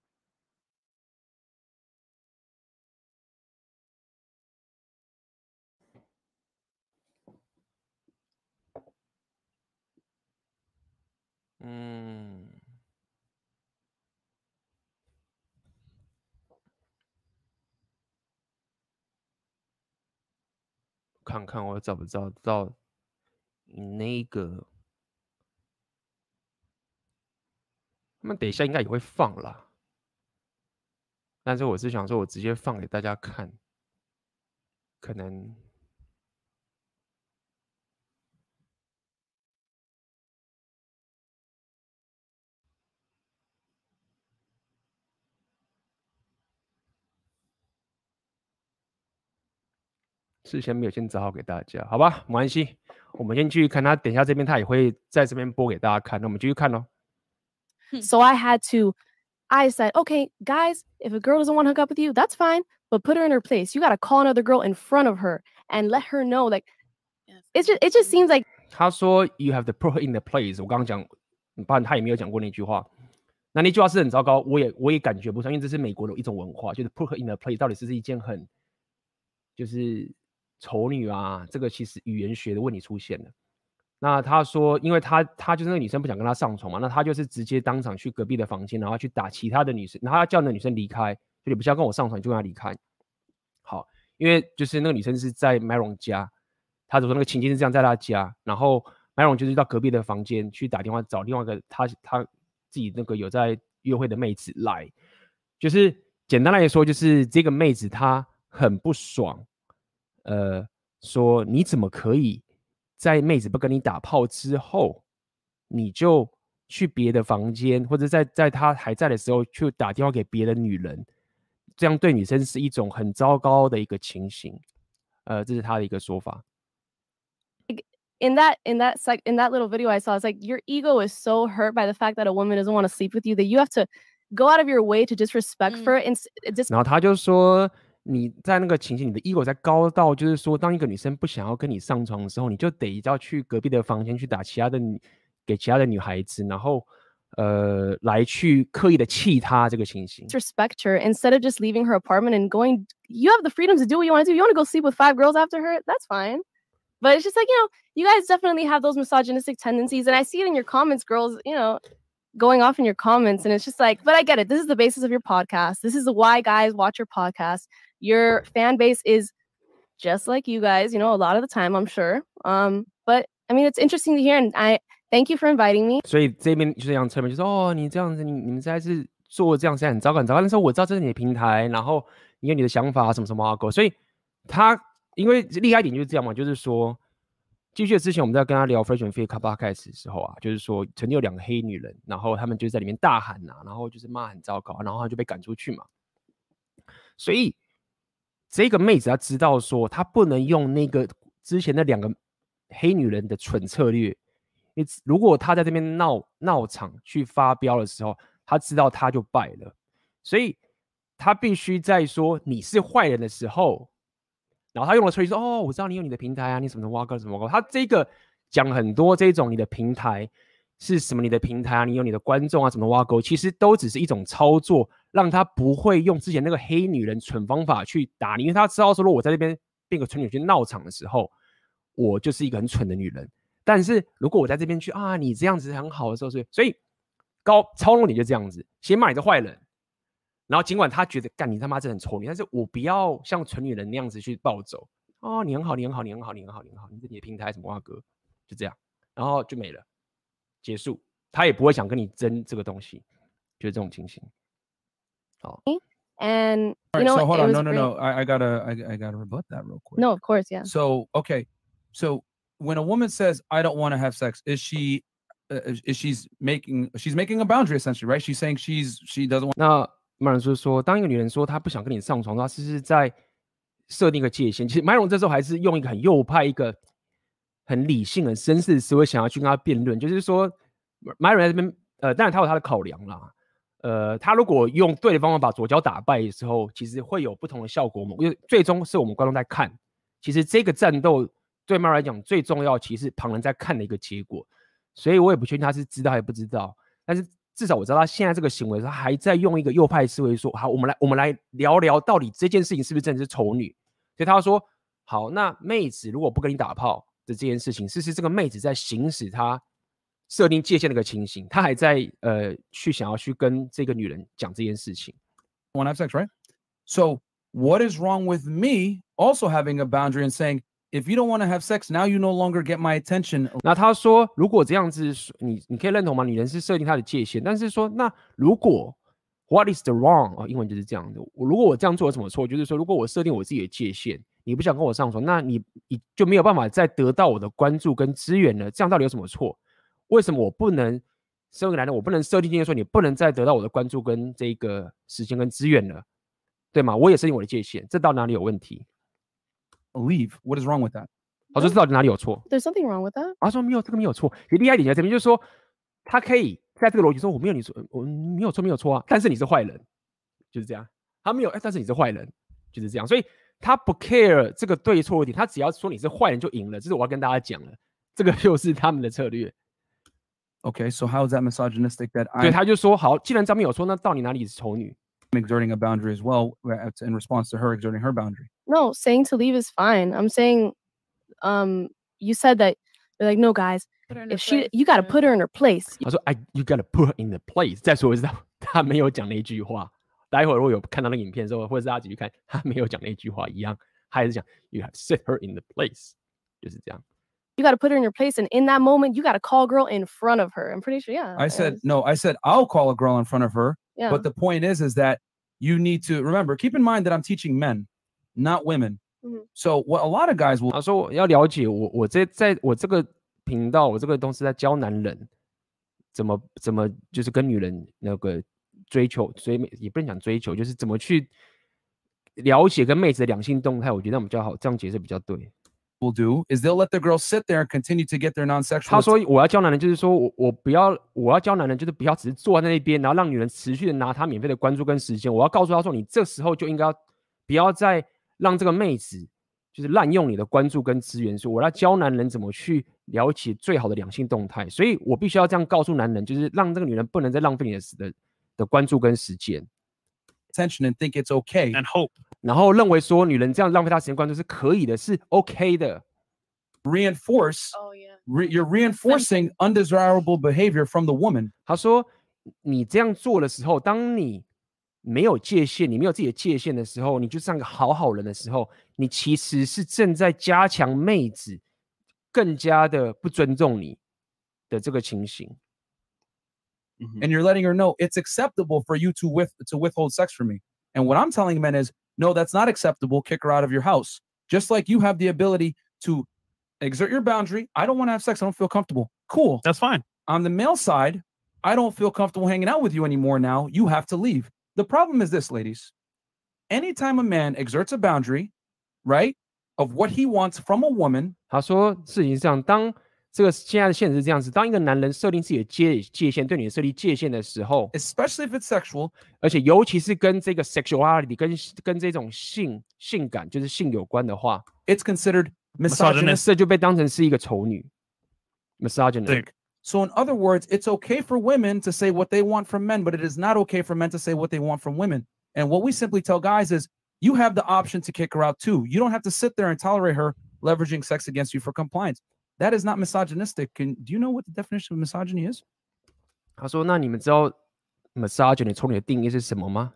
看看我找不找到那个，他们等一下应该也会放啦。但是我是想说，我直接放给大家看，可能。 事先没有先找好给大家，好吧，没关系，我们先继续看他，等一下这边他也会在这边播给大家看，那我们继续看咯。 So I said, okay, guys, if a girl doesn't want to hook up with you, that's fine, but put her in her place. You got to call another girl in front of her and let her know, like, it just seems like 他说 you have to put her in the place。我刚刚讲，不然他也没有讲过那句话。那句话是很糟糕，我也感觉不上，因为这是美国的一种文化，就是 put her in the place 到底是一件很就是丑女啊，这个其实语言学的问题出现了。那他说，因为他就是那个女生不想跟他上床嘛，那他就是直接当场去隔壁的房间，然后去打其他的女生，然后他叫那个女生离开，就你不是要跟我上床，你就跟他离开。好，因为就是那个女生是在 Myron 家，他说那个情境是这样，在他家，然后 Myron 就是到隔壁的房间去打电话找另外一个他自己那个有在约会的妹子来，就是简单来说，就是这个妹子她很不爽，说你怎么可以在妹子不跟你打炮之后，你就去别的房间，或者在她还在的时候去打电话给别的女人，这样对女生是一种很糟糕的一个情形。这是他的一个说法。 in that little video I saw, it's like your ego is so hurt by the fact that a woman doesn't want to sleep with you that you have to go out of your way to disrespect her. And 然后他就说，你在那个情形，你的 ego 在高到，就是说，当一个女生不想要跟你上床的时候，你就得要去隔壁的房间去打给其他的女孩子，然后来去刻意的气她这个情形。 disrespect her instead of just leaving her apartment and going. You have the freedom to do what you want to do. You want to go sleep with 5 girls after her? That's fine. But it's just like, you guys definitely have those misogynistic tendencies. And I see it in your comments, girls, going off in your comments. And it's just like, but I get it. This is the basis of your podcast. This is why guys watch your podcast. Your fan base is just like you guys, a lot of the time, I'm sure. But I mean, it's interesting to hear. And I thank you for inviting me. 所以这边就是这样侧面就说，你这样子，你们实在是做这样实在很糟糕很糟糕。但是我知道这是你的平台，然后你有你的想法什么什么狗。所以他因为厉害一点就是这样嘛，就是说，继续之前我们在跟他聊 Fresh and Fit Podcast 的时候啊，就是说曾经有2个黑女人，然后他们就在里面大喊啊，然后就是骂很糟糕，然后他就被赶出去嘛。所以这个妹子她知道说，她不能用那个之前那2个黑女人的蠢策略。如果她在这边闹场去发飙的时候，她知道她就败了，所以她必须在说你是坏人的时候。然后他用了策略说，我知道你有你的平台啊，你什么挖哥什么挖哥。他这个讲很多这种你的平台是什么，你的平台啊，你有你的观众啊，什么挖沟，其实都只是一种操作，让他不会用之前那个黑女人蠢方法去打你，因为他知道说，如果我在这边变个蠢女去闹场的时候，我就是一个很蠢的女人。但是如果我在这边去你这样子很好的时候，所以操弄你就这样子，先骂你是坏人。然后尽管他觉得干你他妈这很丑女，但是我不要像蠢女人那样子去暴走。你很好，你很好，你很好，你很好，你很好，你的平台什么哥，就这样，然后就没了，结束。他也不会想跟你争这个东西，就是这种情形。好。 And so hold on, no. I gotta rebut that real quick. No, of course, yeah. So okay, so when a woman says I don't want to have sex, is she's making a boundary essentially, right? She's saying she doesn't want. 那麦荣说，当一个女人说她不想跟你上床，她是在设定一个界限。其实麦荣这时候还是用一个很右派、一个很理性、很绅士的思维，想要去跟他辩论。就是说，麦荣在这边，当然他有他的考量啦。他如果用对的方法把左脚打败的时候，其实会有不同的效果。因为最终是我们观众在看。其实这个战斗对麦荣来讲最重要，其实是旁人在看的一个结果。所以我也不确定他是知道还是不知道，但是至少我知道他现在这个行为，他还在用一个右派思维说，好，我们来聊聊到底这件事情是不是真的是丑女。所以他说，好，那妹子如果不跟你打炮的这件事情，是这个妹子在行使她设定界限的一个情形，她还在去想要去跟这个女人讲这件事情。 Want to have sex, right? So what is wrong with me also having a boundary and saying, if you don't want to have sex, now you no longer get my attention. 那他说，如果这样子，你可以认同吗？女人是设定她的界限，但是说，那如果 what is the wrong 英文就是这样的。如果我这样做有什么错？就是说，如果我设定我自己的界限，你不想跟我上床，那你就没有办法再得到我的关注跟资源了。这样到底有什么错？为什么我不能身为男人，我不能设定界限说你不能再得到我的关注跟这个时间跟资源了，对吗？我也设定我的界限，这到哪里有问题？ leave. What is wrong with that? 他说这到底哪里有错？ There's something wrong with that. 他说没有，这个没有错。也厉害一点在这边就是说，他可以在这个逻辑说我没有你说我没有错没有错啊，但是你是坏人，就是这样。他没有，但是你是坏人，就是这样。所以他不 care 这个对错一点，他只要说你是坏人就赢了。这是我要跟大家讲了，这个就是他们的策略。 Okay, so how is that misogynistic that 对， I'm 他就说好，既然张没有错，那到底哪里是丑女？ exerting a boundary as well in response to her exerting her boundary? No, saying to leave is fine. I'm saying, you said that you're like, no, guys, if you got to put her in her place. 他说you gotta put her in the place。再说一次，他没有讲那句话。待会儿如果有看到那个影片的时候，或者是大家继续看，他没有讲那句话一样，他还是讲 you have to set her in the place， 就是这样。 You got to put her in her place, and in that moment, you got to call a girl in front of her. I'm pretty sure, yeah. I said no. I said I'll call a girl in front of her. Yeah. But the point is that you need to remember. Keep in mind that I'm teaching men, not women. Mhm. So what a lot of guys will 他说我要了解我在我这个频道，我这个东西在教男人怎么就是跟女人那个也不能讲追求，就是怎么去了解跟妹子的两性动态。我觉得我们比较好，这样解释比较对。 do is they'll let the girls sit there and continue to get their non-sexual. 他说我要教男人，就是说我要教男人，就是不要只是坐在那边，然后让女人持续的拿他免费的关注跟时间。我要告诉他说，你这时候就应该不要再让这个妹子就是滥用你的关注跟资源。所以我要教男人怎么去了解最好的两性动态。所以我必须要这样告诉男人，就是让这个女人不能再浪费你的关注跟时间。 attention and think it's okay. And hope. 然后认为说女人这样浪费她时间关注是可以的，是 OK 的。 Reinforce. Oh yeah. You're reinforcing undesirable behavior from the woman. 他说，你这样做的时候，当你没有界限，你没有自己的界限的时候，你就像个好人的时候，你其实是正在加强妹子更加的不尊重你的这个情形。 And you're letting her know it's acceptable for you to withhold sex from me. And what I'm telling men is, no, that's not acceptable. Kick her out of your house. Just like you have the ability to exert your boundary. I don't want to have sex. I don't feel comfortable. Cool. That's fine. On the male side, I don't feel comfortable hanging out with you anymore now. You have to leave. The problem is this, ladies. Anytime a man exerts a boundary, right, of what he wants from a woman. 他说，事情上，当这个现在的现实是这样子，当一个男人设定自己的界限，对你的设立界限的时候， especially if it's sexual， 而且尤其是跟这个 sexuality 跟这种性感，就是性有关的话 ，it's considered misogynist， 这就被当成是一个丑女 ，misogynistic。 So in other words, it's okay for women to say what they want from men, but it is not okay for men to say what they want from women. And what we simply tell guys is, you have the option to kick her out too. You don't have to sit there and tolerate her leveraging sex against you for compliance. That is not misogynistic. Do you know what the definition of misogyny is? 他说：“那你们知道 misogyny 从你的定义是什么吗？”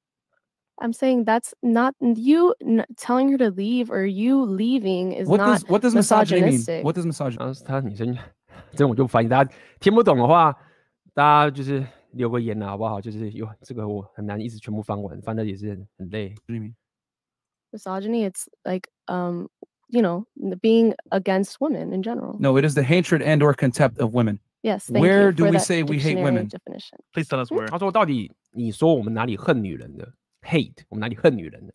I'm saying that's not you telling her to leave or you leaving is not what does misogyny mean? misogynistic. What does misogyny? 然后他女生，这我就翻译，大家听不懂的话，大家就是留个言啊，好不好？就是有这个我很难一直全部翻完，翻的也是很累。 What do you mean? Misogyny, it's like you know, being against women in general. No, it is the hatred and or contempt of women. Yes. Thank Where you do for we that say we hate dictionary women? definition. Please tell us where. 他说：“到底你说我们哪里恨女人的 ？Hate， 我们哪里恨女人的？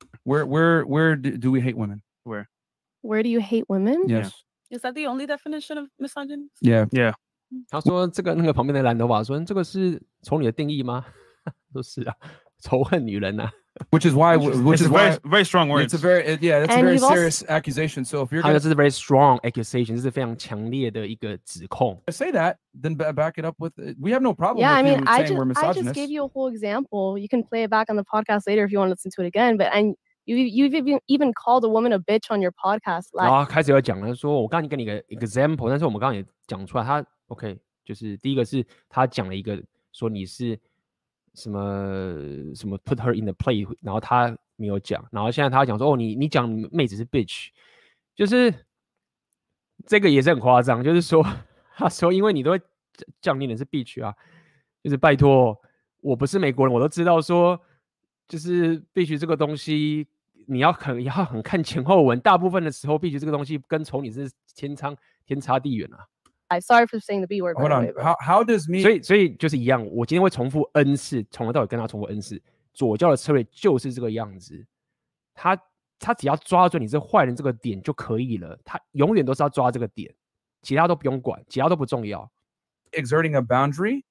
Where do we hate women? Where do you hate women? Yes. Is that the only definition of misogyny? Yeah. Yeah. 他说这个那个旁边的蓝头发说这个是从你的定义吗？说是啊，仇恨女人啊。 Which is why It's a very, very strong words. it's a very that's a And very you've also- serious accusation. So if you're 他 going 说这是 very strong accusation， 这是非常强烈的一个指控。 to say that, then back it up with we have no problem Yeah, I with mean, you I saying we're just misogynists. gave you a whole example. You can play it back on the podcast later if you want to listen to it again. But you've even called a woman a bitch on your podcast. 然后开始要讲了，说我刚才给你一个 example， 但是我们刚刚也讲出来，他 OK， 就是第一个是他讲了一个说你是什么 put her in the play， 然后他没有讲，然后现在他讲说哦你讲妹子是 bitch， 就是这个也是很夸张，就是说他说因为你都会讲你人是 bitch 啊，就是拜托我不是美国人，我都知道说就是 bitch 这个东西。 你要很看前后文，大部分的时候，必须这个东西跟丑女是天差地远啊。 I'm sorry for saying the B word. by Hold the on. way, but- How does me 所以就是一样，我今天会重复 N 次，从头到尾跟他重复 N 次。左教的策略就是这个样子，他他只要抓准你是坏人这个点就可以了，他永远都是要抓这个点，其他都不用管，其他都不重要。 Exerting a boundary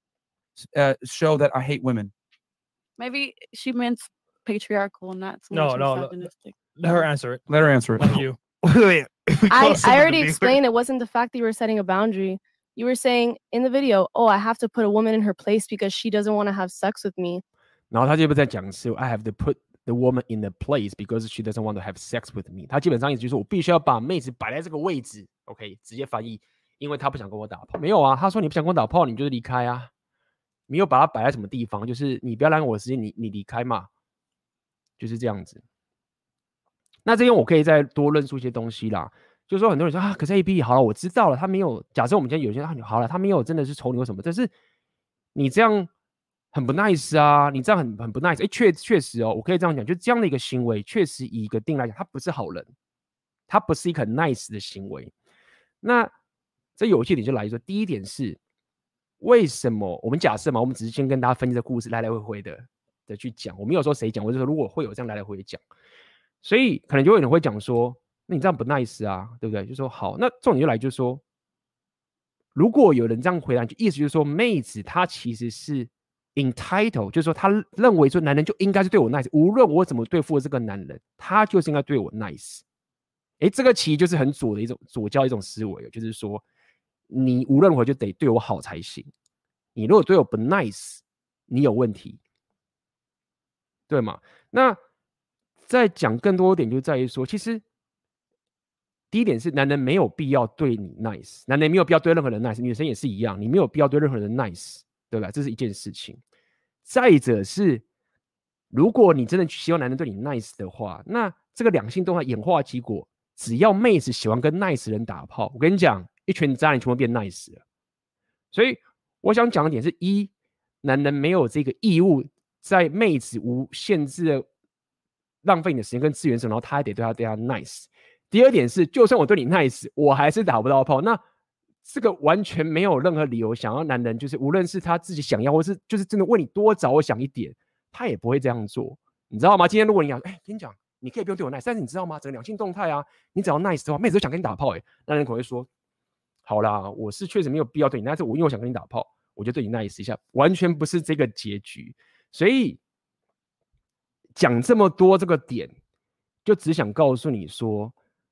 show that I hate women. Maybe she meant patriarchal, not so No, much no, misogynistic. Let her answer it. Let her answer it. Not you. Wait, I already explained it wasn't the fact that you were setting a boundary. You were saying in the video, oh, I have to put a woman in her place because she doesn't want to have sex with me. 然后他就不在讲是 I have to put the woman in the place because she doesn't want to have sex with me。他基本上意思就是我必须要把妹子摆在这个位置。OK， 直接翻译，因为他不想跟我打炮。没有啊，他说你不想跟我打炮，你就是离开啊。没有把它摆在什么地方，就是你不要浪费我的时间，你离开嘛，就是这样子。那这边我可以再多论述一些东西啦。就是说很多人说啊，可是 AB 好了，我知道了，他没有。假设我们今天有些人好了，他没有真的是丑你或什么，但是你这样很不 nice 啊，你这样很不 nice。确实哦，我可以这样讲，就这样的一个行为，确实以一个定来讲，他不是好人，他不是一个很 nice 的行为。那这有趣点就来于说，第一点是为什么我们假设嘛，我们只是先跟大家分析这故事来来回回的去讲，我没有说谁讲，我就说如果会有这样来来回回讲，所以可能就有人会讲说。那你这样不 nice 啊，对不对？就说好，那重点就来就是说，如果有人这样回答，就意思就是说，妹子她其实是 entitled， 就是说她认为说男人就应该是对我 nice， 无论我怎么对付这个男人，他就是应该对我 nice。这个其实就是很左的一种左教一种思维，就是说你无论如何就得对我好才行，你如果对我不 nice， 你有问题，对吗？那再讲更多一点，就在于说，其实。第一点是，男人没有必要对你 nice， 男人没有必要对任何人 nice， 女生也是一样，你没有必要对任何人 nice， 对吧？这是一件事情。再者是，如果你真的希望男人对你 nice 的话，那这个两性动态演化结果，只要妹子喜欢跟 nice 人打炮，我跟你讲，一群渣男全部变 nice 了。所以我想讲的点是：一，男人没有这个义务在妹子无限制的浪费你的时间跟资源时，然后他还得对他 nice。第二点是，就算我对你 nice， 我还是打不到炮。那这个完全没有任何理由想要男人，就是无论是他自己想要，或是就是真的为你多着想一点，他也不会这样做，你知道吗？今天如果你讲，跟你讲，你可以不用对我 nice， 但是你知道吗？整个两性动态啊，你只要 nice 的话，妹子都想跟你打炮，那人可能会说，好啦，我是确实没有必要对你 nice， 但是因为我想跟你打炮，我就对你 nice 一下，完全不是这个结局。所以讲这么多这个点，就只想告诉你说。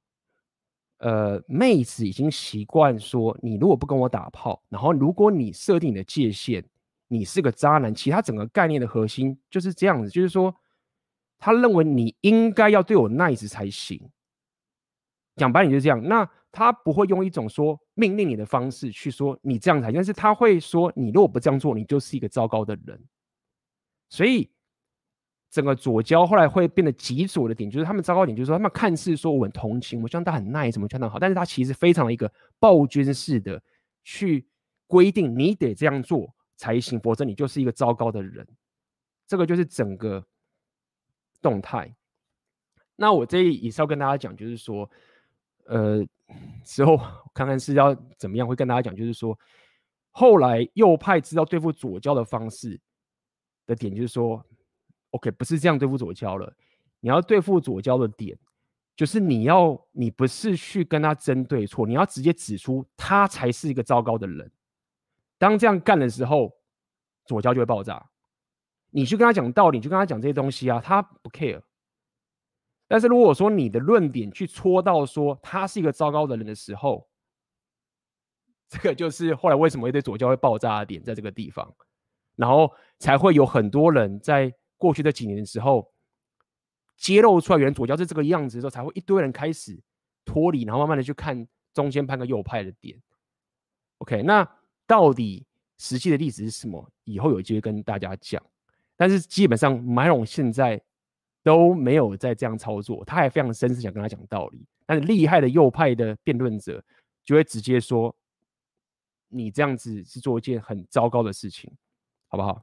妹子已经习惯说，你如果不跟我打炮，然后如果你设定你的界限，你是个渣男。其他整个概念的核心就是这样子，就是说，他认为你应该要对我 nice 才行。讲白点就是这样。那他不会用一种说命令你的方式去说你这样才行，但是他会说，你如果不这样做，你就是一个糟糕的人。所以。整个左交后来会变得极左的点，就是他们糟糕点，就是说他们看似说我很同情，我希望他很 nice， 什么相当好，但是他其实非常的一个暴君式的去规定你得这样做才行，否则你就是一个糟糕的人。这个就是整个动态。那我这里也是要跟大家讲，就是说，之后看看是要怎么样，会跟大家讲，就是说，后来右派知道对付左交的方式的点，就是说。OK， 不是这样对付左交了。你要对付左交的点，就是你不是去跟他争对错，你要直接指出他才是一个糟糕的人。当这样干的时候，左交就会爆炸。你去跟他讲道理，你去跟他讲这些东西啊，他不 care。但是如果说你的论点去戳到说他是一个糟糕的人的时候，这个就是后来为什么一堆左交会爆炸的点，在这个地方，然后才会有很多人在。过去这几年的时候，揭露出来原来左交是这个样子的时候，才会一堆人开始脱离，然后慢慢的去看中间派跟右派的点。OK， 那到底实际的例子是什么？以后有机会跟大家讲。但是基本上 Myron 现在都没有在这样操作，他还非常绅士想跟他讲道理。但是厉害的右派的辩论者就会直接说，你这样子是做一件很糟糕的事情，好不好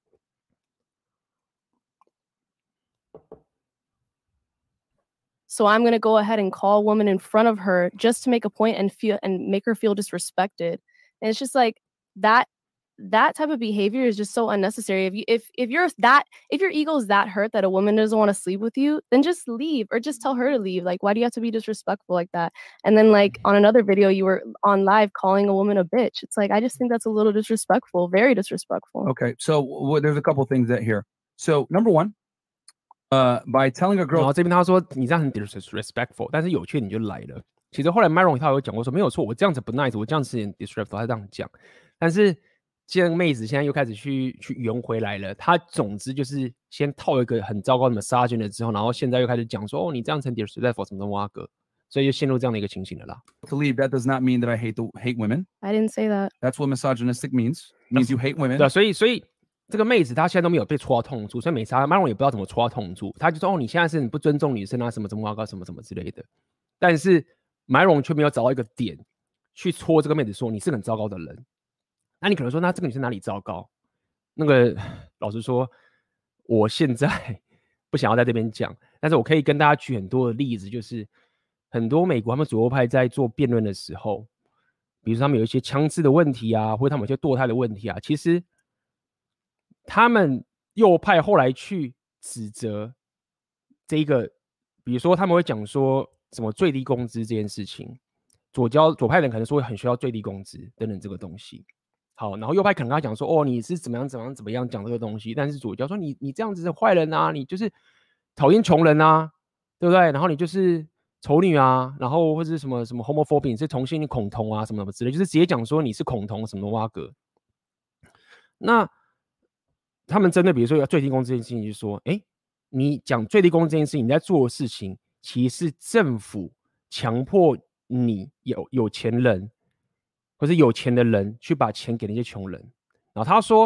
？So I'm going to go ahead and call a woman in front of her just to make a point and make her feel disrespected. And it's just like that that type of behavior is just so unnecessary. If your ego is that hurt that a woman doesn't want to sleep with you, then just leave or just tell her to leave. Like, why do you have to be disrespectful like that? And then like on another video, you were on live calling a woman a bitch. It's like, I just think that's a little disrespectful, very disrespectful. Okay, so there's a couple things that here. So number one, by telling a 然 girl 后这边他说你这样很 disrespectful， 但是有缺点就来了。其实后来 Myron 他有讲过说没有错，我这样子不 nice， 我这样子很 disrespectful， 他这样讲。但是既然妹子现在又开始去圆回来了，她总之就是先套一个很糟糕的 massage 了之后，然后现在又开始讲说哦你这样子很 disrespectful 什么什么哇哥，所以就陷入这样的一个情形了啦。 to leave, that does not mean that I hate women. I didn't say that. That's what misogynistic means. Means you hate women. 对啊，所以这个妹子她现在都没有被戳到痛处，所以没差。Myron 也不知道怎么戳到痛处，他就说哦你现在是你不尊重女生啊什么什么哇哥什么什么之类的，但是 Myron 却没有找到一个点去戳这个妹子说你是个很糟糕的人。那你可能说那这个女生哪里糟糕？那个老实说，我现在不想要在这边讲，但是我可以跟大家举很多的例子，就是很多美国他们左右派在做辩论的时候，比如说他们有一些枪支的问题啊，或者他们有些堕胎的问题啊，其实他们右派后来去指责这一个，比如说他们会讲说什么最低工资这件事情，左派人可能说很需要最低工资等等这个东西。好，然后右派可能跟他讲说，哦，你是怎么样讲这个东西，但是左教说你这样子是坏人啊，你就是讨厌穷人啊，对不对？然后你就是丑女啊，然后或者是什么 homophobic， 你是同性恋恐同啊，什么什么之类，就是直接讲说你是恐同什么哇哥。那他们针对比如说要最低工资这件事情，就说，哎，你讲最低工资这件事情，你在做的事情，其实是政府强迫你有钱人。或是有钱的人去把钱给那些穷人，然后他说，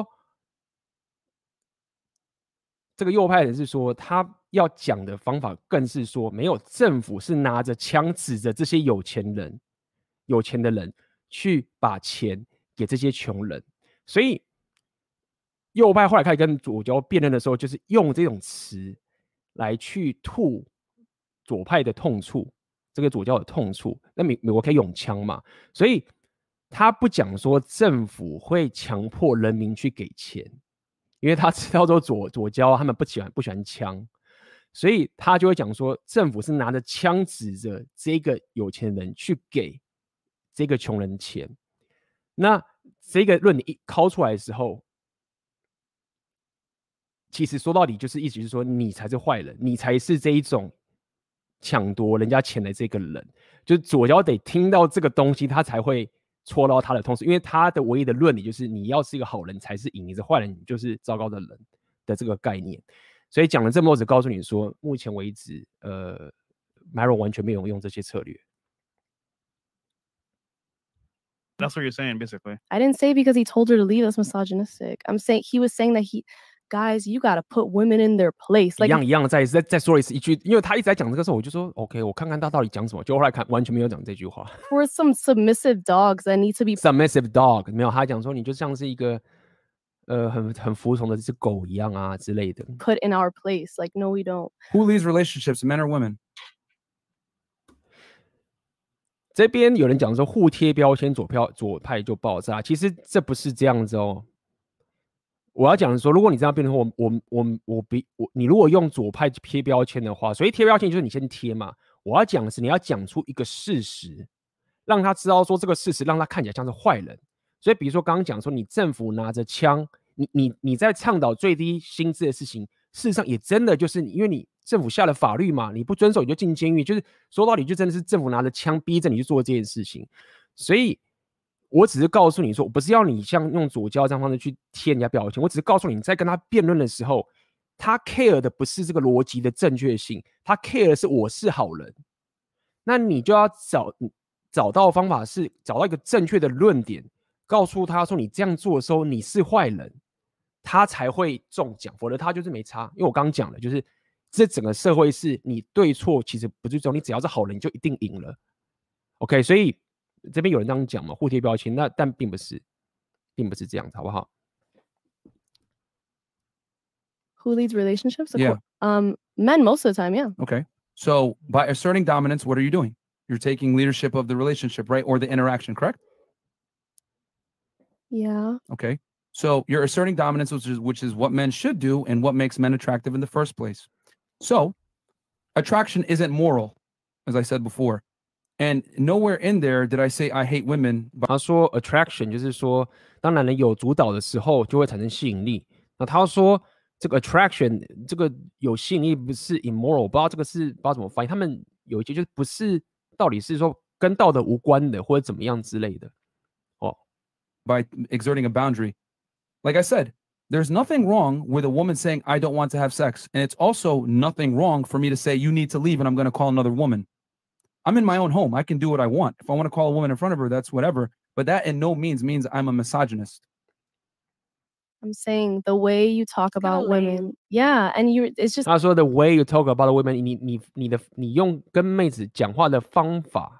这个右派人是说，他要讲的方法更是说，没有政府是拿着枪指着这些有钱的人去把钱给这些穷人，所以右派后来开始跟左交辩论的时候，就是用这种词来去吐左派的痛处，这个左交的痛处。那美国可以用枪嘛，所以。他不讲说政府会强迫人民去给钱，因为他知道说左交他们不喜欢枪，所以他就会讲说政府是拿着枪指着这个有钱人去给这个穷人钱。那这个论点一敲出来的时候，其实说到底就是意思是说你才是坏人，你才是这一种抢夺人家钱的这个人，就是左交得听到这个东西他才会戳到他的痛处，因为他的唯一的论理就是你要是一个好人才是赢，你是坏人你就是糟糕的人的这个概念。所以讲了这么多，只告诉你说，目前为止，Myron 完全没有用这些策略。 That's what you're saying, basically. I didn't say because he told her to leave that's misogynistic. I'm saying he was saying that guys, you gotta put women in their place. Like 一样再说一次一句，因为他一直在讲这个时候，我就说 OK， 我看看他到底讲什么。就后来看完全没有讲这句话。 For some submissive dogs that need to be submissive dog， 没有，他讲说你就像是一个很服从的这只狗一样啊之类的。 Put in our place, like no, we don't. Who leads relationships, men or women? 这边有人讲说互贴标签，左派就爆炸，其实这不是这样子哦。我要讲的说，如果你这样变的话，你如果用左派贴标签的话，所以贴标签就是你先贴嘛。我要讲的是，你要讲出一个事实，让他知道说这个事实让他看起来像是坏人。所以，比如说刚刚讲说，你政府拿着枪，你在倡导最低薪资的事情，事实上也真的就是因为你政府下了法律嘛，你不遵守你就进监狱，就是说到底就真的是政府拿着枪逼着你去做这件事情，所以。我只是告诉你说，我不是要你像用左交这样方式去贴人家标签，我只是告诉你在跟他辩论的时候，他 care 的不是这个逻辑的正确性，他 care 的是我是好人。那你就要找到方法是找到一个正确的论点，告诉他说你这样做的时候你是坏人，他才会中奖，否则他就是没差。因为我刚刚讲了，就是这整个社会是你对错其实不最重要，你只要是好人你就一定赢了。OK， 所以。这边有人这样讲嘛，互贴标签，但并不是这样子，好不好 Who leads relationships? Yeah. Men most of the time, yeah. Okay. So by asserting dominance, what are you doing? You're taking leadership of the relationship, right? Or the interaction, correct? Yeah. Okay. So you're asserting dominance, which is what men should do and what makes men attractive in the first place. So attraction isn't moral, as I said before. And nowhere in there did I say I hate women. 他说 attraction 就是说，当男人有主导的时候，就会产生吸引力。那他说这个 attraction 这个有吸引力不是 immoral， 我不知道这个是不知道怎么翻译。他们有一些就是不是到底是说跟道德无关的，或者怎么样之类的。哦 by exerting a boundary. Like I said, there's nothing wrong with a woman saying, I don't want to have sex. And it's also nothing wrong for me to say, you need to leave and I'm going to call another woman. I'm in my own home. I can do what I want. If I want to call a woman in front of her, that's whatever. But that in no means I'm a misogynist. I'm saying the way you talk about women. Yeah. And it's just. 他说 the way you talk about women， 你用跟妹子讲话的方法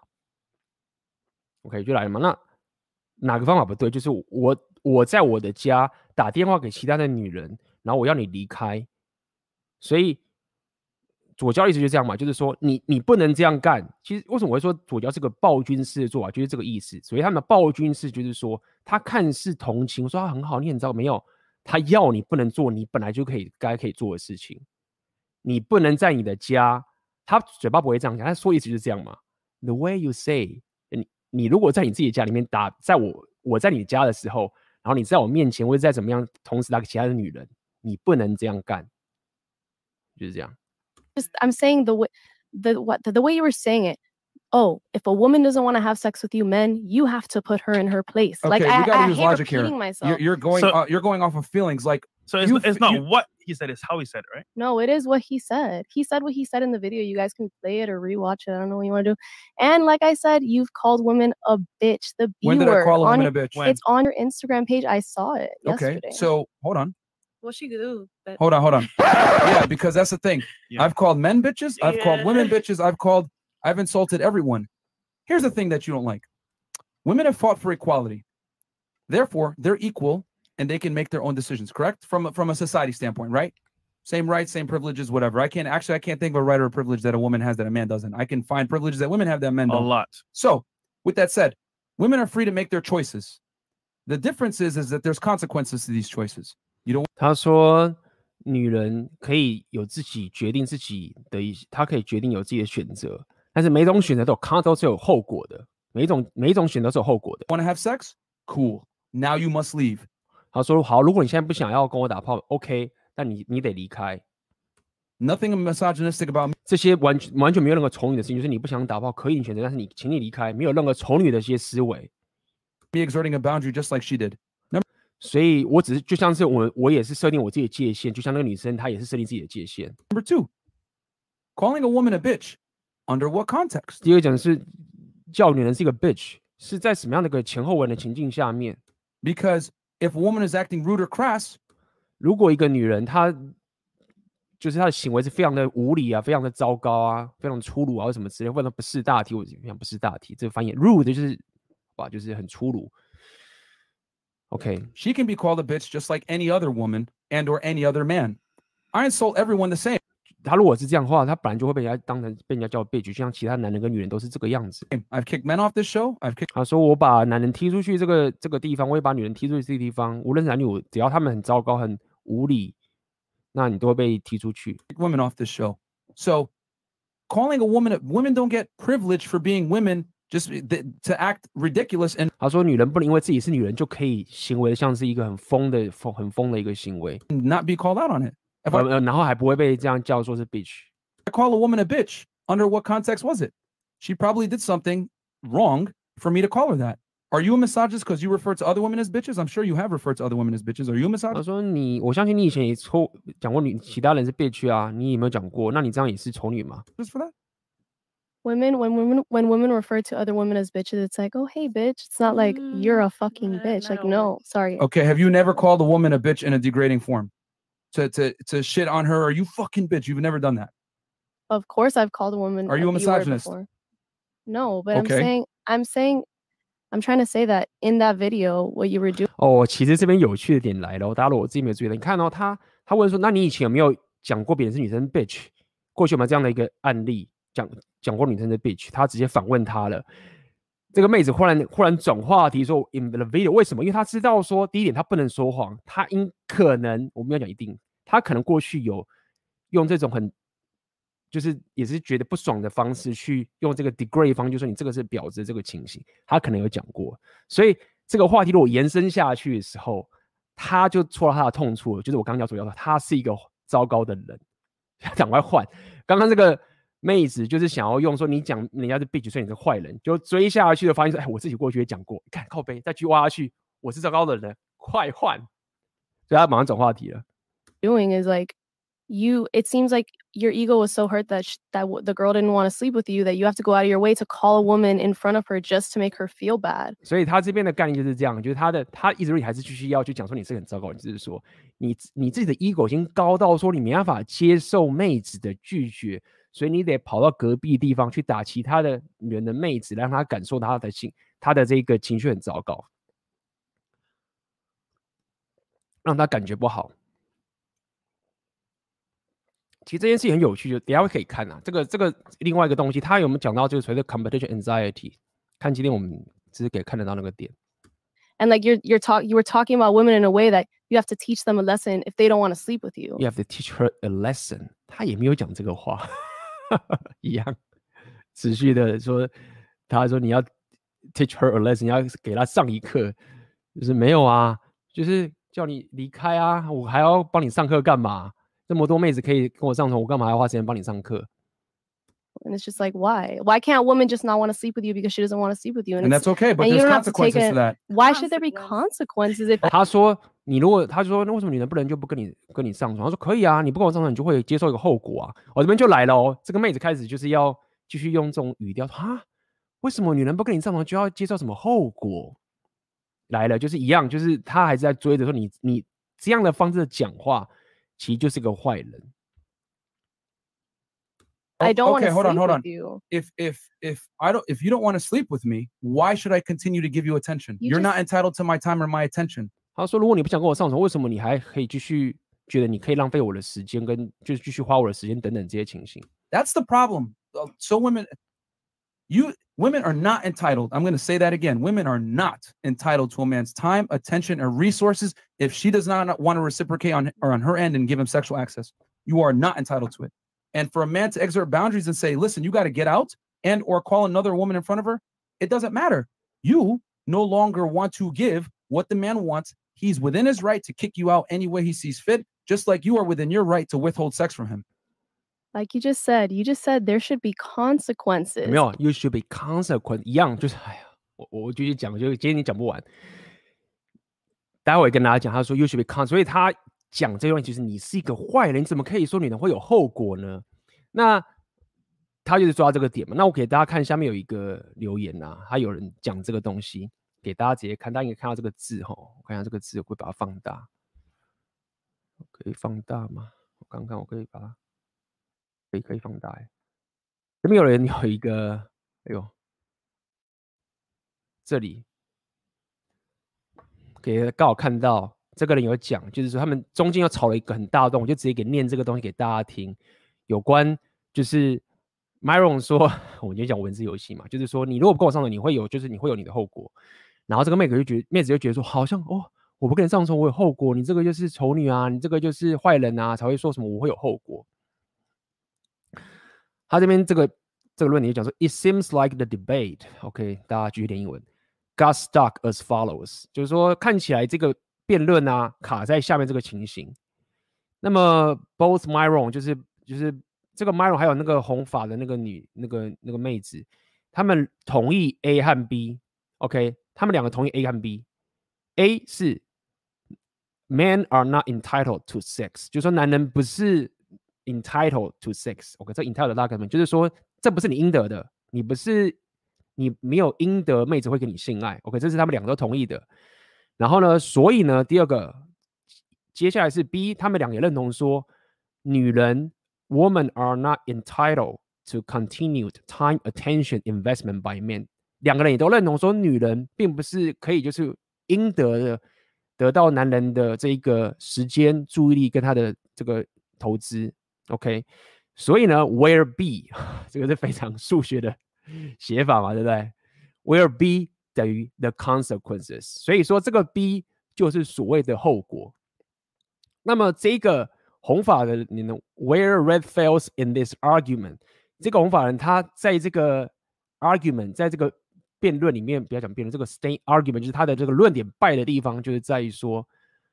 ，OK 就来了嘛。那哪个方法不对？就是我在我的家打电话给其他的女人，然后我要你离开，所以左交的意思就是这样嘛，就是说你不能这样干。其实为什么我会说左交是个暴君式的做法，就是这个意思。所以他们的暴君式就是说，他看似同情，说他很好，你很糟，没有，他要你不能做你本来就可以做的事情。你不能在你的家，他嘴巴不会这样讲，他说意思就是这样嘛。The way you say， 你如果在你自己的家里面打，在我在你家的时候。然后你在我面前，或者在怎么样，同时打给其他的女人，你不能这样干，就是这样。 Just I'm saying the way you were saying it. Oh, if a woman doesn't want to have sex with you, men, you have to put her in her place. Okay, like we I use hate logic repeating here. myself. You're going off of feelings. Like So it's not what he said, it's how he said it, right? No, it is what he said. He said what he said in the video. You guys can play it or rewatch it. I don't know what you want to do. And like I said, you've called women a bitch. The B when word. Did I call a woman a bitch? It's on your Instagram page. I saw it yesterday. Okay, so hold on. What she do? Hold on. Yeah, because that's the thing. Yeah. I've called men bitches. I've called women Yeah. bitches. I've insulted everyone. Here's the thing that you don't like. Women have fought for equality. Therefore, they're equal and they can make their own decisions, correct? From a society standpoint, right? Same rights, same privileges, whatever. I can't think of a right or a privilege that a woman has that a man doesn't. I can find privileges that women have that men don't. A lot. So, with that said, women are free to make their choices. The difference is that there's consequences to these choices. You don't. 他说，女人可以有自己决定自己的她可以决定有自己的选择，但是每一种选择都是有后果的，每一种选择都是有后果的。 Want to have sex? Cool. Now you must leave. 他说好，如果你现在不想要跟我打炮 ，OK， 但你得离开。 Nothing misogynistic about me. 这些完全没有任何丑女的事情，就是你不想打炮可以选择，但是请你离开，没有任何丑女的一些思维。 Me exerting a boundary just like she did. 所以我只是就像是我也是设定我自己的界限，就像那个女生她也是设定自己的界限。 Number 2, calling a woman a bitch. Under what context? 第二讲是叫女人是一个 bitch， 是在什么样的一个前后文的情境下面？ Because if a woman is acting rude or crass, 如果一个女人她就是她的行为是非常的无理啊，非常的糟糕啊，非常粗鲁啊，或什么之类，或者不识大体，我讲不识大体，这个翻译 rude 就是哇，就是很粗鲁。OK， she can be called a bitch just like any other woman and or any other man. I insult everyone the same. 他如果是这样的话，他本来就会被人家叫 bitch，就像其他男人跟女人都是这个样子。 I've kicked men off this show. I've kicked. 他说我把男人踢出去这个地方，我也把女人踢出去这个地方，无论是男女，只要他们很糟糕、很无理，那你都会被踢出去。 women off this show. So calling a women don't get privilege for being women just to act ridiculous and 他说女人不能因为自己是女人就可以行为像是一个很疯的一个行为， not be called out on it. If 然后还不会被这样叫说是 bitch。 I call a woman a bitch, under what context was it? She probably did something wrong for me to call her that. Are you a misogynist because you refer to other women as bitches? I'm sure you have referred to other women as bitches. Are you a 他 misogynist? 说我相信你以前也讲过其他人是 bitch 啊，你有没有讲过？那你这样也是丑女吗？ Just for that? When women refer to other women as bitches, it's like, oh hey bitch. It's not like you're a fucking bitch. Like no, sorry. Okay, have you never called a woman a bitch in a degrading form? To shit on her, are you fucking bitch? You've never done that. Of course, I've called a woman. Are you a B word misogynist? before. No, but Okay. I'm trying to say that in that video, what you were doing. 哦，其实这边有趣的点来了，大家如果我自己没有注意到，你看到他问说，那你以前有没有讲过别人是女生 bitch？ 过去有没有这样的一个案例，讲过女生的 bitch？ 他直接反问他了。 这个妹子忽然转话题说 in the video， 为什么？因为她知道说，第一点她不能说谎，她可能，我们要讲一定，她可能过去有用这种很就是也是觉得不爽的方式去用这个 degrade 方，就说你这个是婊子这个情形，她可能有讲过，所以这个话题如果延伸下去的时候，她就戳到她的痛处了，就是我刚刚要说的，她是一个糟糕的人，赶快换。刚刚这个妹子就是想要用说你讲人家是 bitch， 所以你是坏人，就追下去的发现说，哎，我自己过去也讲过，看靠背再去挖下去，我是糟糕的人，快换，所以他马上转话题了。 Doing is like it seems like your ego was so hurt that the girl didn't want to sleep with you that you have to go out of your way to call a woman in front of her just to make her feel bad. 所以他这边的概念就是这样，就是他一直还是继续要去讲说你是很糟糕，你就是说你自己的 ego 已经高到说你没办法接受妹子的拒绝，所以你得跑到隔壁地方去打其他的人的妹子，让他感受到他的这个情绪很糟糕，让他感觉不好。其实这件事情很有趣，就等一下可以看啊。这个另外一个东西，他有没有讲到就是所谓的 competition anxiety？ 看今天我们只是可以看得到那个点。 And like you were talking about women in a way that you have to teach them a lesson if they don't want to sleep with you. You have to teach her a lesson。他也没有讲这个话，一样持续的说，他说你要 teach her a lesson， 你要给他上一课，就是没有啊，就是叫你离开啊，我还要帮你上课干嘛？这么多妹子可以跟我上床，我干嘛要花时间帮你上课？ And it's just like, why? Why can't a woman just not want to sleep with you because she doesn't want to sleep with you? And that's okay, but there's consequences to that. Why should there be consequences if 他说他说那为什么女人不能就不跟你上床？他说可以啊，你不跟我上床，你就会接受一个后果啊。我这边就来了哦，这个妹子开始就是要继续用这种语调啊，为什么女人不跟你上床就要接受什么后果？来了，就是一样，就是他还是在追着说你这样的方式讲话，其实就是个坏人。 I don't want to hold sleep on. with you. If you don't want to sleep with me, why should I continue to give you attention? You're not entitled to my time or my attention. 他说，如果你不想跟我上床，为什么你还可以继续觉得你可以浪费我的时间，跟就是继续花我的时间等等这些情形？ That's the problem. So women are not entitled. I'm going to say that again. Women are not entitled to a man's time, attention, or resources if she does not want to reciprocate on her end and give him sexual access. You are not entitled to it. And for a man to exert boundaries and say, listen, you got to get out and or call another woman in front of her, it doesn't matter. You no longer want to give what the man wants. He's within his right to kick you out any way he sees fit, just like you are within your right to withhold sex from him. Like you just said there should be consequences. 没有 ，you should be consequent 一样，就是哎呀，我继续讲，就今天你讲不完。待会跟大家讲，他说 you should be consequent， 所以他讲这段就是你是一个坏人，你怎么可以说女人会有后果呢？那他就是抓这个点嘛。那我给大家看下面有一个留言啊，他有人讲这个东西，给大家直接看，大家应该看到这个字哈，我看一下这个字，我会把它放大，可以放大吗？我刚刚我可以把它。可以放大哎，这边有人有一个，哎呦，这里给刚好看到这个人有讲，就是说他们中间又吵了一个很大的洞，我就直接给念这个东西给大家听，有关就是 Myron 说，我就讲文字游戏嘛，就是说你如果不跟我上床，你会有你的后果，然后这个妹子就觉得说，好像哦，我不跟你上床我有后果，你这个就是丑女啊，你这个就是坏人啊，才会说什么我会有后果。他这边这个论点就讲说 ，It seems like the debate，OK， 大家继续念英文 ，got stuck as follows， 就是说看起来这个辩论啊卡在下面这个情形。那么 both Myron 就是这个 Myron 还有那个红发的那个那个妹子，他们同意 A 和 B，OK， 他们两个同意 A 和 B。A 是 Men are not entitled to sex， 就是说男人不是。entitled to sex，OK， 这 entitled 大概就是说，这不是你应得的，你没有应得妹子会跟你性爱 ，OK， 这是他们两个都同意的。然后呢，所以呢，第二个，接下来是 B， 他们两个也认同说，女人 women are not entitled to continued time, attention, investment by men， 两个人也都认同说，女人并不是可以就是应得的得到男人的这一个时间、注意力跟他的这个投资。OK， 所以呢 ，where B 这个是非常数学的写法嘛，对不对 where B 等于 the consequences， 所以说这个 B 就是所谓的后果。那么这个红发的人 where red fails in this argument， 这个红发人他在这个 argument， 在这个辩论里面，不要讲辩论，这个 state argument 就是他的这个论点败的地方，就是在于说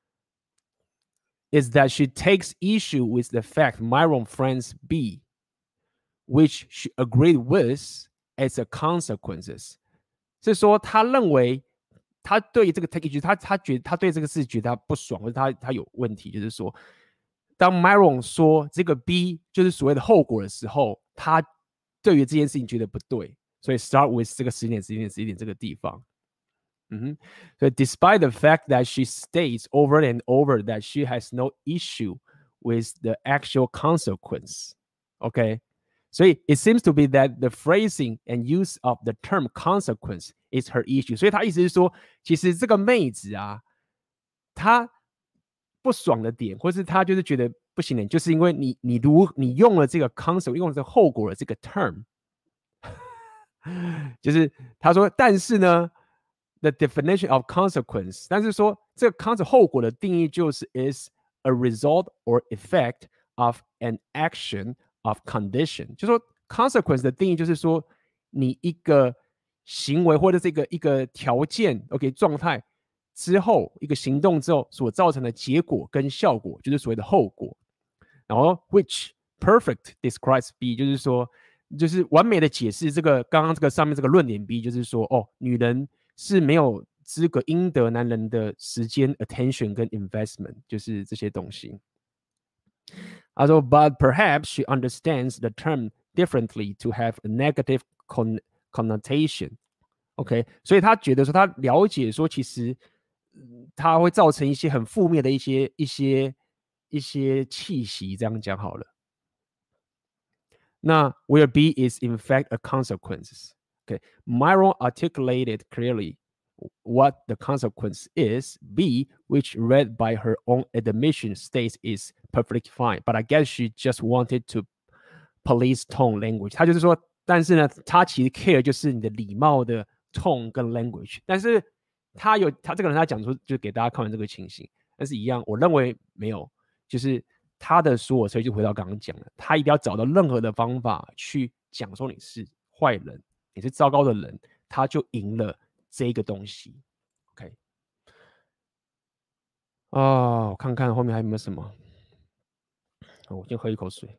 is that she takes issue with the fact Myron friends B which she agreed with as a consequences， 是说他认为他对这个 take issue， 他觉得他对这个事觉得他不爽，或者他有问题，就是说，当 Myron 说这个 B 就是所谓的后果的时候，他对于这件事情觉得不对，所以 start with 这个10点这个地方。So despite the fact that she states over and over that she has no issue with the actual consequence, okay? So it seems to be that the phrasing and use of the term consequence is her issue. 所以他意思是说，其实这个妹子啊，她不爽的点，或是她就是觉得不行的，就是因为你用了这个 consequence， 用了这个后果的这个 term， 就是他说，但是呢 ，the definition of consequence， 但是说这个 consequence 后果的定义就是 is a result or effect of an action of condition， 就说 consequence 的定义就是说你一个行为或者是一个条件 ，OK 状态之后一个行动之后所造成的结果跟效果，就是所谓的后果。然后 which perfect describes B， 就是说就是完美的解释这个刚刚这个上面这个论点 B， 就是说哦，女人是没有资格应得男人的时间 attention 跟 investment， 就是这些东西。他说 but perhaps she understands the term differently to have a negative connotation。 OK， 所以他觉得说他了解说其实它会造成一些很负面的一些气息，这样讲好了。那 where B is in fact a consequence. Okay, Myron articulated clearly what the consequence is. B, which read by her own admission states is perfectly fine, but I guess she just wanted to police tone language. 他就是说，但是呢，他其实 care 就是你的礼貌的 tone 跟 language， 但是他这个人他讲出就给大家看完这个情形，但是一样，我认为没有，就是他的所以就回到刚刚讲的，他一定要找到任何的方法去讲说你是坏人，你是糟糕的人，他就赢了这个东西。OK， 我看看后面还有没有什么。我先喝一口水。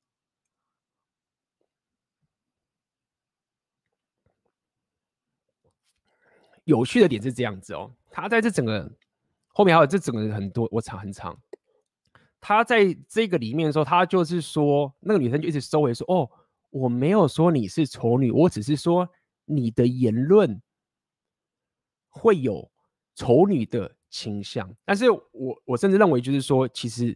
有趣的点是这样子哦，他在这整个后面还有这整个很多，我查很长。他在这个里面的时候，他就是说，那个女生就一直收回说：“哦，我没有说你是丑女，我只是说你的言论会有丑女的倾向。”但是我甚至认为，就是说，其实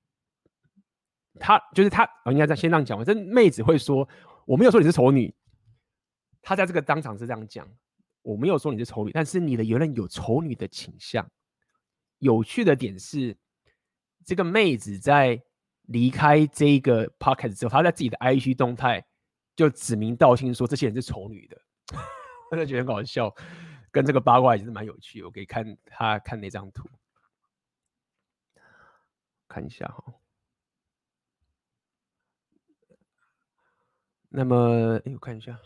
他应该先这样讲，这妹子会说：“我没有说你是丑女。”他在这个当场是这样讲。我没有说你是丑女，但是你的言论有丑女的倾向。有趣的点是，这个妹子在离开这个 podcast 之后，她在自己的 IG 动态就指名道姓说这些人是丑女的，我就觉得很搞笑，跟这个八卦也是蛮有趣的。我可以看那张图，看一下哈。那么，我看一下。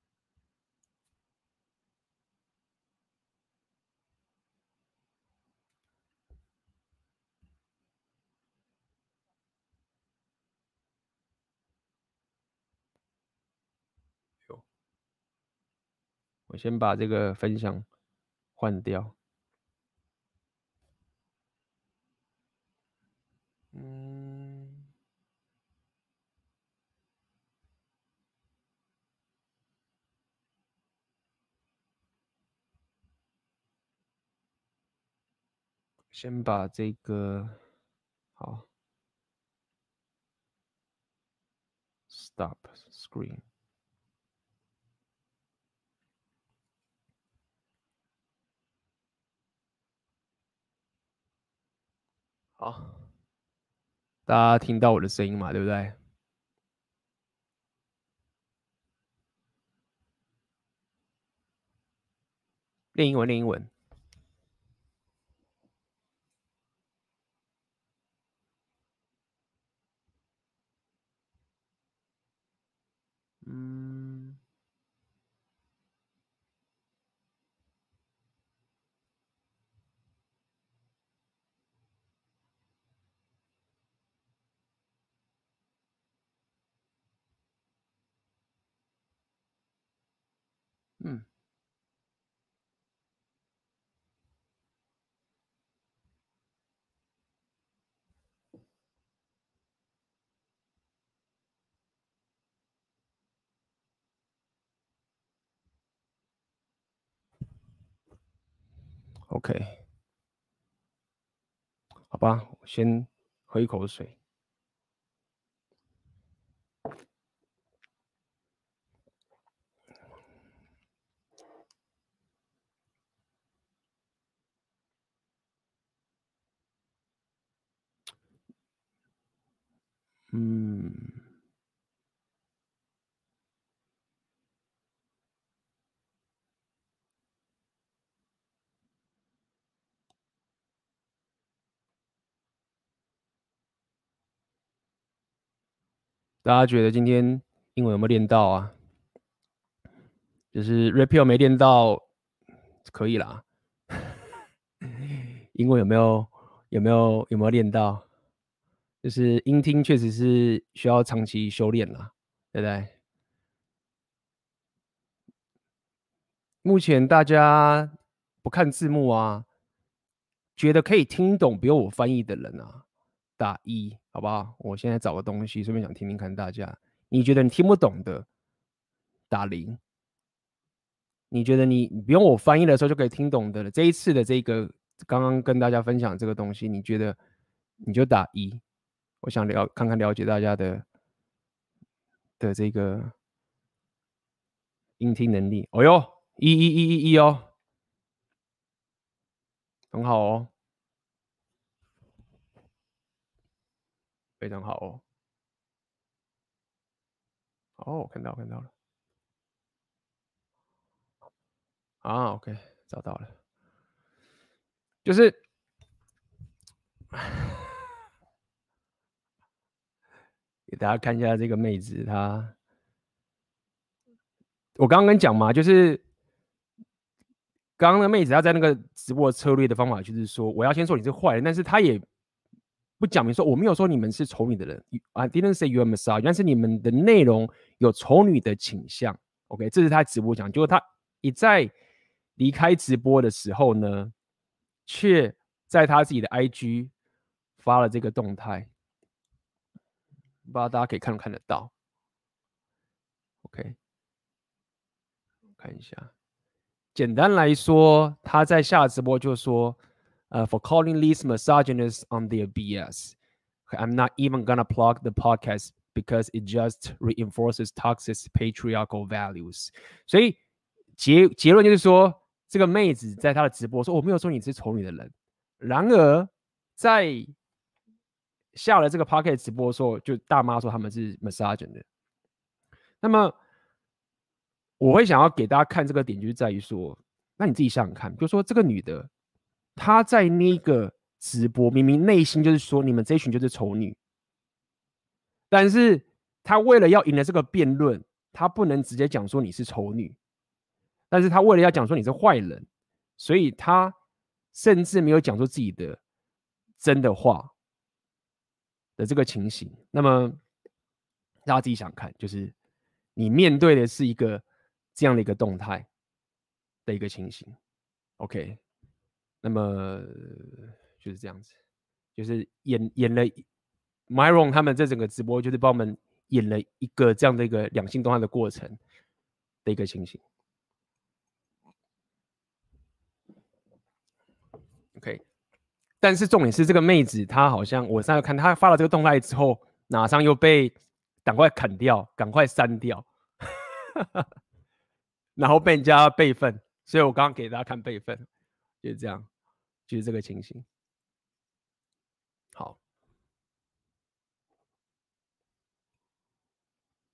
我先把这个分享换掉。先把这个好 ，stop screen。好，大家听到我的声音嘛，对不对？ 练英文，练英文。嗯。嗯。OK， 好吧，我先喝一口水。嗯。大家觉得今天英文有没有练到啊？就是 repeal 没练到，可以啦。英文有没有练到？就是音听确实是需要长期修炼啦，对不对？目前大家不看字幕啊，觉得可以听懂不用我翻译的人啊，打1，好不好？我现在找个东西，顺便想听听看大家，你觉得你听不懂的，打0。你觉得你不用我翻译的时候就可以听懂的了，这一次的这个刚刚跟大家分享这个东西，你觉得你就打1。我想看看了解大家的这个音听能力。哦哟，1哦，很好哦，非常好哦。哦，看到了。啊，OK， 找到了，就是给大家看一下这个妹子，我刚刚跟你讲嘛，就是刚刚的妹子她在那个直播策略的方法，就是说我要先说你是坏人，但是她也不讲明说我没有说你们是丑女的人 ，I didn't say you're a misogynist， 但是你们的内容有丑女的倾向。OK， 这是他直播讲，结果他一在离开直播的时候呢，却在他自己的 IG 发了这个动态，不知道大家可以看得到。OK， 看一下。简单来说，他在下直播就说，for calling these misogynists on their BS. I'm not even gonna plug the podcast because it just reinforces toxic patriarchal values. 所以结论就是说，这个妹子在她的直播说，我没有说你是丑女的人。然而在下了这个 podcast 直播的时候，就大妈说他们是 misogynist 的。那么我会想要给大家看这个点，就是在于说，那你自己想想看，就说这个女的，她在那个直播明明内心就是说你们这一群就是丑女，但是她为了要赢了这个辩论，她不能直接讲说你是丑女，但是她为了要讲说你是坏人，所以她甚至没有讲出自己的真的话的这个情形。那么大家自己想看，就是你面对的是一个这样的一个动态的一个情形。OK， 那么就是这样子，就是演了 Myron 他们这整个直播，就是帮我们演了一个这样的一个两性动态的过程的一个情形。OK， 但是重点是这个妹子，她好像我上次看她发了这个动态之后，马上又被赶快砍掉，赶快删掉，然后被人家备份，所以我刚刚给大家看备份，就是这样，就是这个情形。好，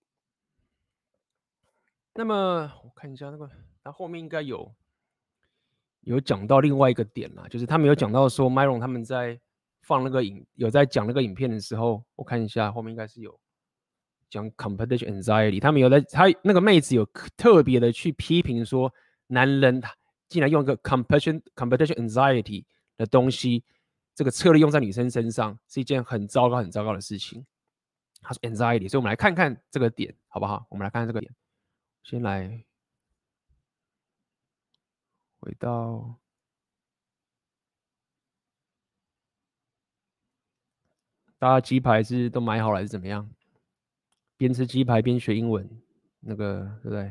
那么我看一下那个，它后面应该有有讲到另外一个点啦，就是他们有讲到说 Myron 他们在放那个有在讲那个影片的时候，我看一下后面应该是有讲 competition anxiety， 他们有他那个妹子有特别的去批评说，男人竟然用一个 competition anxiety 的东西，这个策略用在女生身上是一件很糟糕的事情。他说 anxiety， 所以我们来看看这个点好不好？我们来看看这个点，先来回到大家鸡排是都买好了还是怎么样？边吃鸡排边学英文，那个对不对？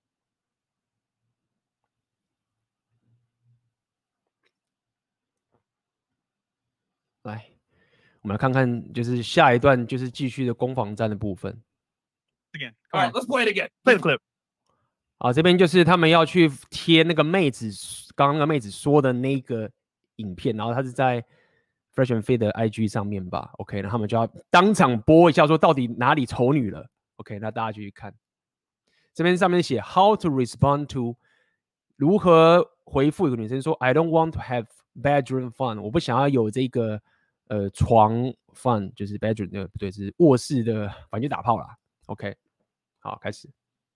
来，我们来看看，就是下一段就是继续的攻防战的部分。 Again, All right, let's play it again. play the clip. 好，这边就是他们要去贴那个妹子刚刚那个妹子说的那个影片，然后他是在 Fresh and Fit 的 IG 上面吧 ，OK， 那他们就要当场播一下，说到底哪里丑女了 ，OK， 那大家继续看。这边上面写 How to respond to 如何回复一个女生说 I don't want to have bedroom fun， 我不想要有这个床 fun， 就是 bedroom 不对，是卧室的，反正就打炮啦 ，OK， 好，开始。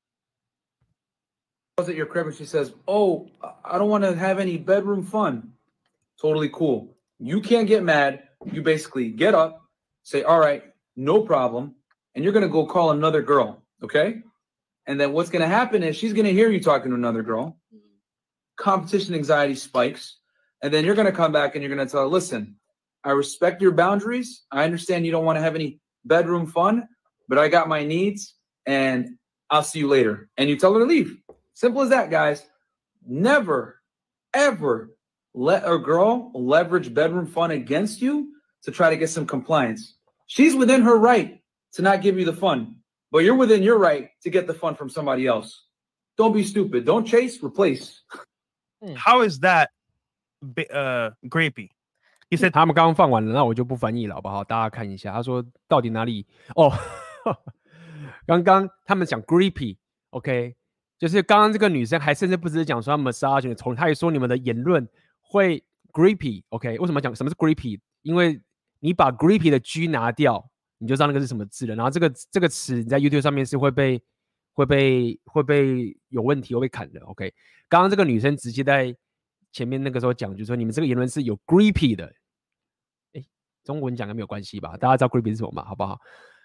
At your crib and she says, "Oh, I don't want to have any bedroom fun." Totally cool. You can't get mad. You basically get up, say, "All right, no problem," and you're gonna go call another girl, okay? And then what's gonna happen is she's gonna hear you talking to another girl. Competition anxiety spikes, and then you're gonna come back and you're gonna tell her, "Listen, I respect your boundaries. I understand you don't want to have any bedroom fun, but I got my needs, and I'll see you later." And you tell her to leave. Simple as that, guys. Never, ever let a girl leverage bedroom fun against you to try to get some compliance. She's within her right to not give you the fun, but you're within your right to get the fun from somebody else. Don't be stupid. Don't chase, replace. How is that grapey? He said 他们刚刚放完了，那我就不翻译了，好不好？大家看一下，他说到底哪里？哦，刚刚他们讲 creepy，OK，、就是刚刚这个女生还甚至不只是讲说 massage 的丑，她也说你们的言论会 creepy，OK，、为什么讲什么是 creepy？ 因为你把 creepy 的 G 拿掉，你就知道那个是什么字了。然后这个词你在 YouTube 上面是会被有问题，会被砍的。OK， 刚刚这个女生直接在前面那个时候讲，就是说你们这个言论是有 creepy 的。中文讲的没有关系吧？大家知道 creepy 是什么嘛？好不好？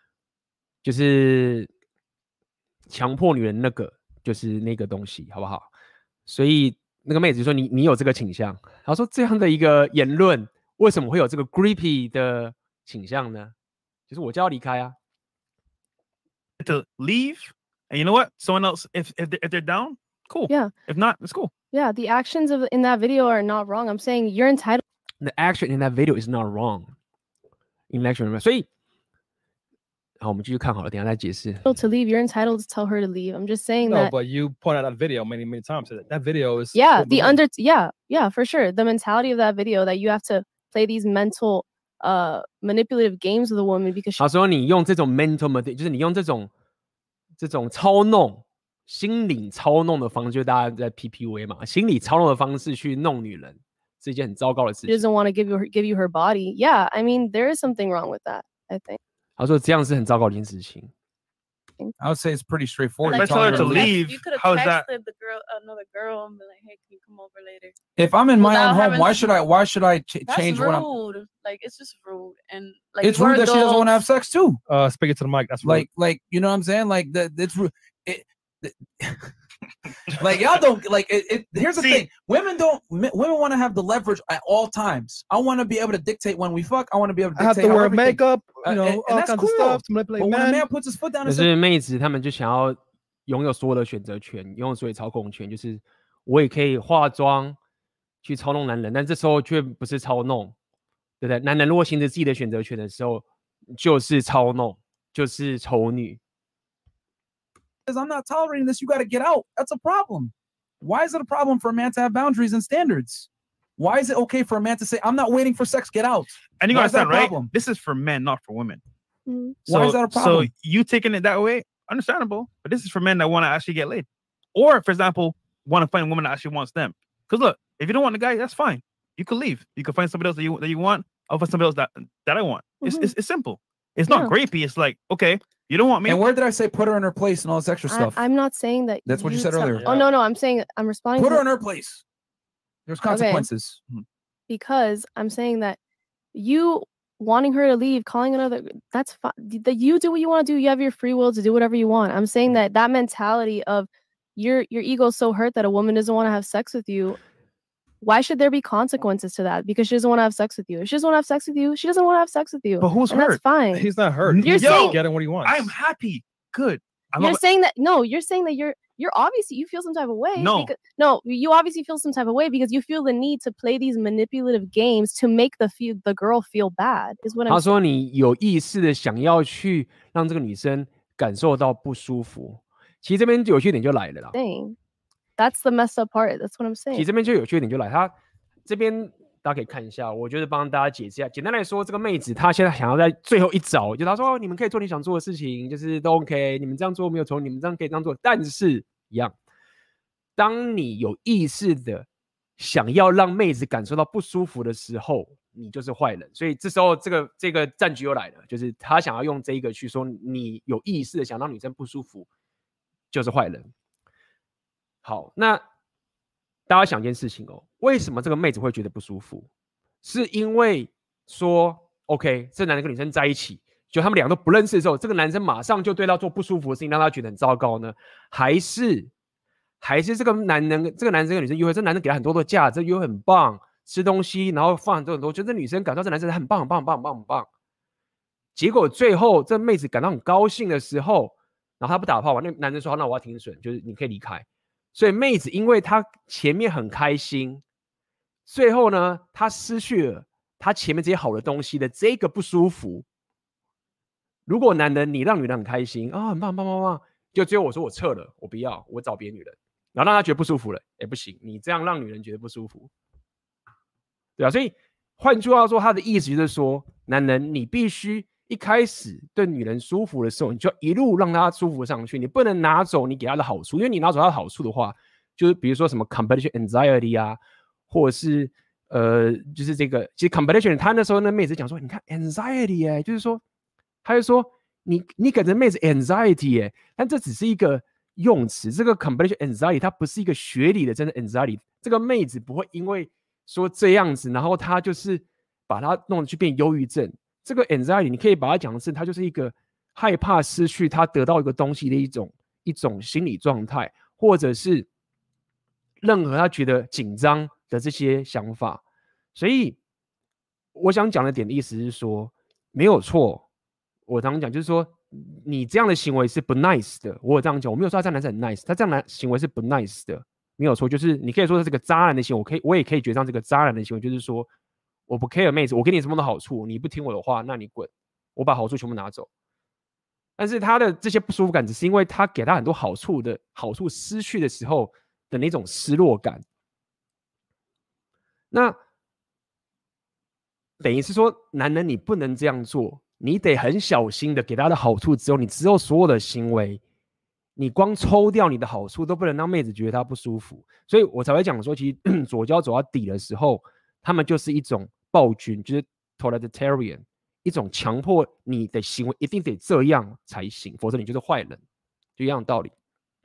就是强迫女人那个，就是那个东西，好不好？所以那个妹子说你有这个倾向，然后说这样的一个言论，为什么会有这个 creepy 的倾向呢？就是我就要离开啊。 to leave, and you know what? Someone else, if they're down, cool. Yeah. If not, it's cool. Yeah, the actions in that video are not wrong. I'm saying you're entitled. The action in that video is not wrong. In action, 所以好，我们继续看好了，等一下再解释。 To leave, you're entitled to tell her to leave. I'm just saying No, that. but you pointed out that video many times. That video is yeah, for sure. The mentality of that video that you have to play these mental manipulative games with a woman because 他说你用这种 mental manipulation， 就是你用这种操弄、心理操弄的方式，就大家在 PPV 嘛，心理操弄的方式去弄女人，是一件很糟糕的事 she 情。 doesn't want to give you her body. Yeah, I mean there is something wrong with that, I think. 他说这样是很糟糕的一件事情。 I would say it's pretty straightforward. Like, You're tell her telling to her leave. You could have How is that? texted the girl, another girl, and be like, "Hey, can you come over later?" If I'm in my Without own home, having why to- should I That's change what I'm? rude. Like it's just rude, and like It's we're rude that she doesn't want to have adults. sex too. speaking to the mic. That's rude. Like you know what I'm saying? Like that. It's rude. Like y'all don't like it. Here's the See- thing: women want to have the leverage at all times. I want to be able to dictate when we fuck. I want to be able to I have dictate to how wear everything- makeup, you and know, all that's kinds cool. of stuff to manipulate But when a men. man puts his foot down 可 and 是 says, 妹子她们就想要拥有所有的选择权，拥有所有操控权，就是我也可以化妆去操弄男人，但这时候却不是操弄，对不对？男人如果行使自己的选择权的时候，就是操弄，就是丑女。 "I'm not tolerating this. You got to get out." That's a problem. Why is it a problem for a man to have boundaries and standards? Why is it okay for a man to say, "I'm not waiting for sex. Get out"? And you Why is that understand, a right? problem? This is for men, not for women. Mhm. Why is that a problem? So you taking it that way, understandable. But this is for men that want to actually get laid, or for example, want to find a woman that actually wants them. Because look, If you don't want the guy, that's fine. You can leave. You can find somebody else that you want. I'll find somebody else that I want. It's simple. It's not grapey. It's like, okay, you don't want me. And where did I say put her in her place and all this extra stuff? I'm not saying that. That's what you said earlier. Oh, no. I'm saying I'm responding. Put her in her place. There's consequences. Okay. Because I'm saying that you wanting her to leave, calling another, that's fine. That you do what you want to do. You have your free will to do whatever you want. I'm saying that mentality of your ego is so hurt that a woman doesn't want to have sex with you. Why should there be consequences to that? Because she doesn't want to have sex with you. If she doesn't want to have sex with you, she doesn't want to have sex with you. But who's hurt? That's fine. He's not hurt. You're saying getting what he wants. I'm happy. Good. You're saying that you're obviously you feel some type of way. You obviously feel some type of way because you feel the need to play these manipulative games to make the girl feel bad. Is what I'm saying. 他说你有意识的想要去让这个女生感受到不舒服。其实这边有趣点就来了啦。 That's the messed up part. That's what I'm saying. 其实这边就有趣点就来，他这边大家可以看一下，我觉得帮大家解释一下。简单来说，这个妹子她现在想要在最后一招，就她说你们可以做你想做的事情，就是都 OK， 你们这样做没有错，你们这样可以这样做，但是一样，当你有意识的想要让妹子感受到不舒服的时候，你就是坏人。所以这时候这个战局又来了，就是他想要用这个去说你有意识的想让女生不舒服，就是坏人。好，那大家想一件事情哦，为什么这个妹子会觉得不舒服？是因为说 OK， 这男人跟女生在一起，就他们两个都不认识的时候，这个男生马上就对他做不舒服的事情，让他觉得很糟糕呢？还是这个男生跟女生约会，这男生给他很多的价值，约会很棒，吃东西，然后放很多，就这女生感到这男生很棒。结果最后这妹子感到很高兴的时候，然后他不打炮嘛，那男生说那我要停损，就是你可以离开。所以妹子因为她前面很开心，最后呢，她失去了她前面这些好的东西的这个不舒服。如果男人你让女人很开心啊，很棒，就最后我说我撤了，我不要，我找别的女人，然后让她觉得不舒服了，不行，你这样让女人觉得不舒服，对啊，所以换句话说，他的意思就是说，男人你必须一开始对女人舒服的时候，你就要一路让她舒服上去，你不能拿走你给她的好处，因为你拿走她的好处的话，就是比如说什么 competition anxiety 啊，或者是就是这个，其实 competition， 他那时候那妹子讲说，你看 anxiety 就是说，他就说你给这妹子 anxiety 但这只是一个用词，这个 competition anxiety 它不是一个学理的真的 anxiety， 这个妹子不会因为说这样子，然后她就是把它弄得去变忧郁症。这个 anxiety 你可以把它讲的是，它就是一个害怕失去他得到一个东西的一种心理状态，或者是任何他觉得紧张的这些想法。所以我想讲的点的意思是说，没有错，我常常讲就是说，你这样的行为是不 nice 的。我有这样讲，我没有说他这样男生很 nice， 他这样的行为是不 nice 的，没有错。就是你可以说这是个渣男的行为，我也可以觉得这个渣男的行为就是说，我不 care 妹子，我给你什么的好处，你不听我的话，那你滚，我把好处全部拿走。但是他的这些不舒服感，只是因为他给他很多好处失去的时候的那种失落感。那等于是说，男人你不能这样做，你得很小心的给他的好处之后，你之后所有的行为，你光抽掉你的好处都不能让妹子觉得他不舒服。所以我才会讲说，其实左交走到底的时候，他们就是一种暴君，就是 totalitarian， 一种强迫你的行为一定得这样才行，否则你就是坏人，就一样的道理。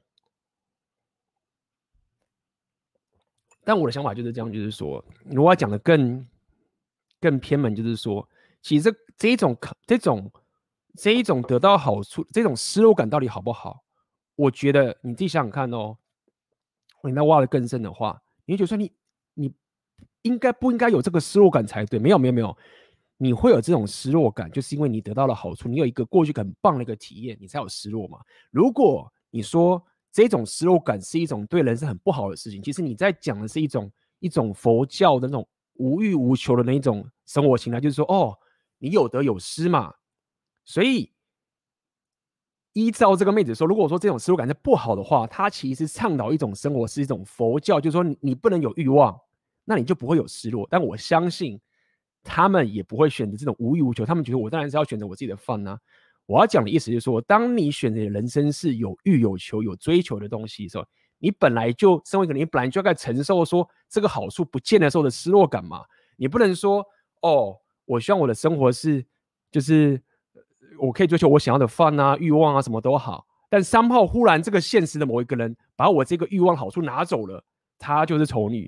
但我的想法就是这样，就是说，如果要讲的更偏门，就是说，其实这一种得到好处，这种失落感到底好不好？我觉得你自己想想看哦，你再挖得更深的话，你会觉得说你不应该有这个失落感才对。没有，你会有这种失落感，就是因为你得到了好处，你有一个过去很棒的一个体验，你才有失落嘛。如果你说这种失落感是一种对人生很不好的事情，其实你在讲的是一种佛教的那种无欲无求的那一种生活形态，就是说哦，你有得有失嘛。所以依照这个妹子说，如果说这种失落感是不好的话，她其实倡导一种生活是一种佛教，就是说你不能有欲望，那你就不会有失落。但我相信他们也不会选择这种无欲无求，他们觉得我当然是要选择我自己的fun啊。我要讲的意思就是说，当你选择的人生是有欲有求有追求的东西的时候， 你本来就身为一个人，你本来就该承受说这个好处不见的时候的失落感嘛。你不能说哦，我希望我的生活是就是我可以追求我想要的fun啊、欲望啊，什么都好。但somehow忽然这个现实的某一个人把我这个欲望好处拿走了，她就是丑女。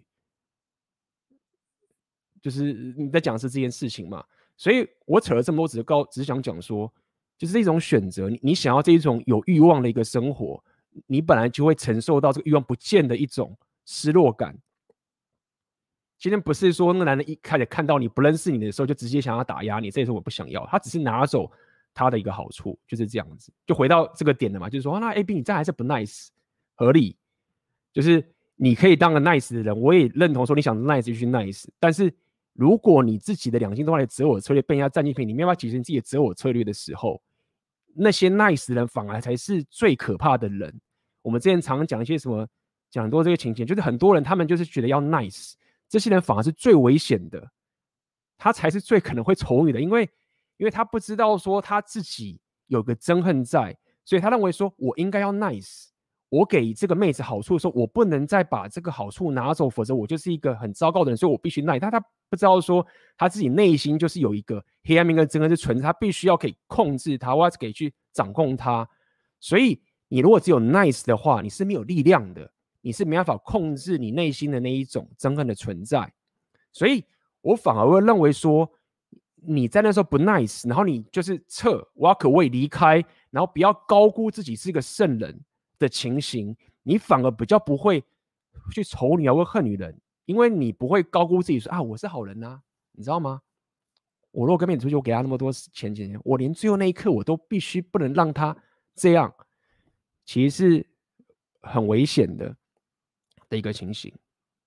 就是你在讲的是这件事情嘛，所以我扯了这么多，只是想讲说，就是这种选择，你想要这一种有欲望的一个生活，你本来就会承受到这个欲望不见的一种失落感。今天不是说那个男人一开始看到你不认识你的时候就直接想要打压你，这也是我不想要，他只是拿走他的一个好处，就是这样子，就回到这个点了嘛，就是说，那 AB 你这样还是不 nice， 合理，就是你可以当个 nice 的人，我也认同说你想 nice 就去 nice， 但是如果你自己的两性动态的择偶策略被人家占尽便宜，你没办法解决你自己的择偶策略的时候，那些 nice 的人反而才是最可怕的人。我们之前常讲一些什么，讲很多这个情节，就是很多人他们就是觉得要 nice， 这些人反而是最危险的，他才是最可能会丑女的，因为他不知道说他自己有个憎恨在，所以他认为说我应该要 nice。我给这个妹子好处的时候，我不能再把这个好处拿走，否则我就是一个很糟糕的人，所以我必须耐。他不知道说他自己内心就是有一个黑暗面跟憎恨是存在，他必须要可以控制他，或者可以去掌控他。所以你如果只有 nice 的话，你是没有力量的，你是没办法控制你内心的那一种憎恨的存在。所以我反而会认为说，你在那时候不 nice， 然后你就是walk away 离开，然后不要高估自己是一个圣人的情形，你反而比较不会去丑女啊或恨女人，因为你不会高估自己说啊我是好人啊，你知道吗？我如果跟妹子出去，我给她那么多钱，我连最后那一刻我都必须不能让她这样，其实是很危险的一个情形。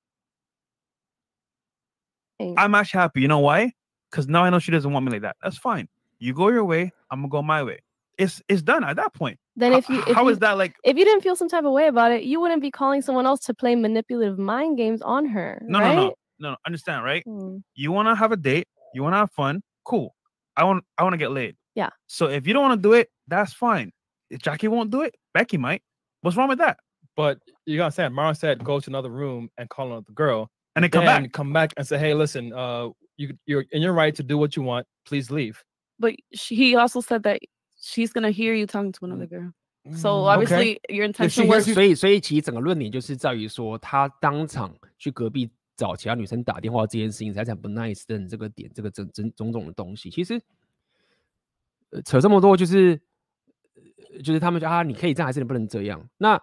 I'm actually happy. You know why? Because now I know she doesn't want me like that. That's fine. You go your way, I'm gonna go my way. It's done at that point. Then is that like? If you didn't feel some type of way about it, you wouldn't be calling someone else to play manipulative mind games on her. No. Understand, right? You want to have a date. You want to have fun. Cool. I want to get laid. Yeah. So if you don't want to do it, that's fine. If Jackie won't do it, Becky might. What's wrong with that? But you gotta say, Mara said, go to another room and call another girl, and then come back and say, hey, listen, you're in your right to do what you want. Please leave. But he also said that she's gonna hear you talking to another girl. So obviously your intention was. 所以其实整个论点就是在于说，他当场去隔壁找其他女生打电话这件事情才不 nice 的这个点，这个种种的东西，其实扯这么多就是他们说你可以这样还是你不能这样。那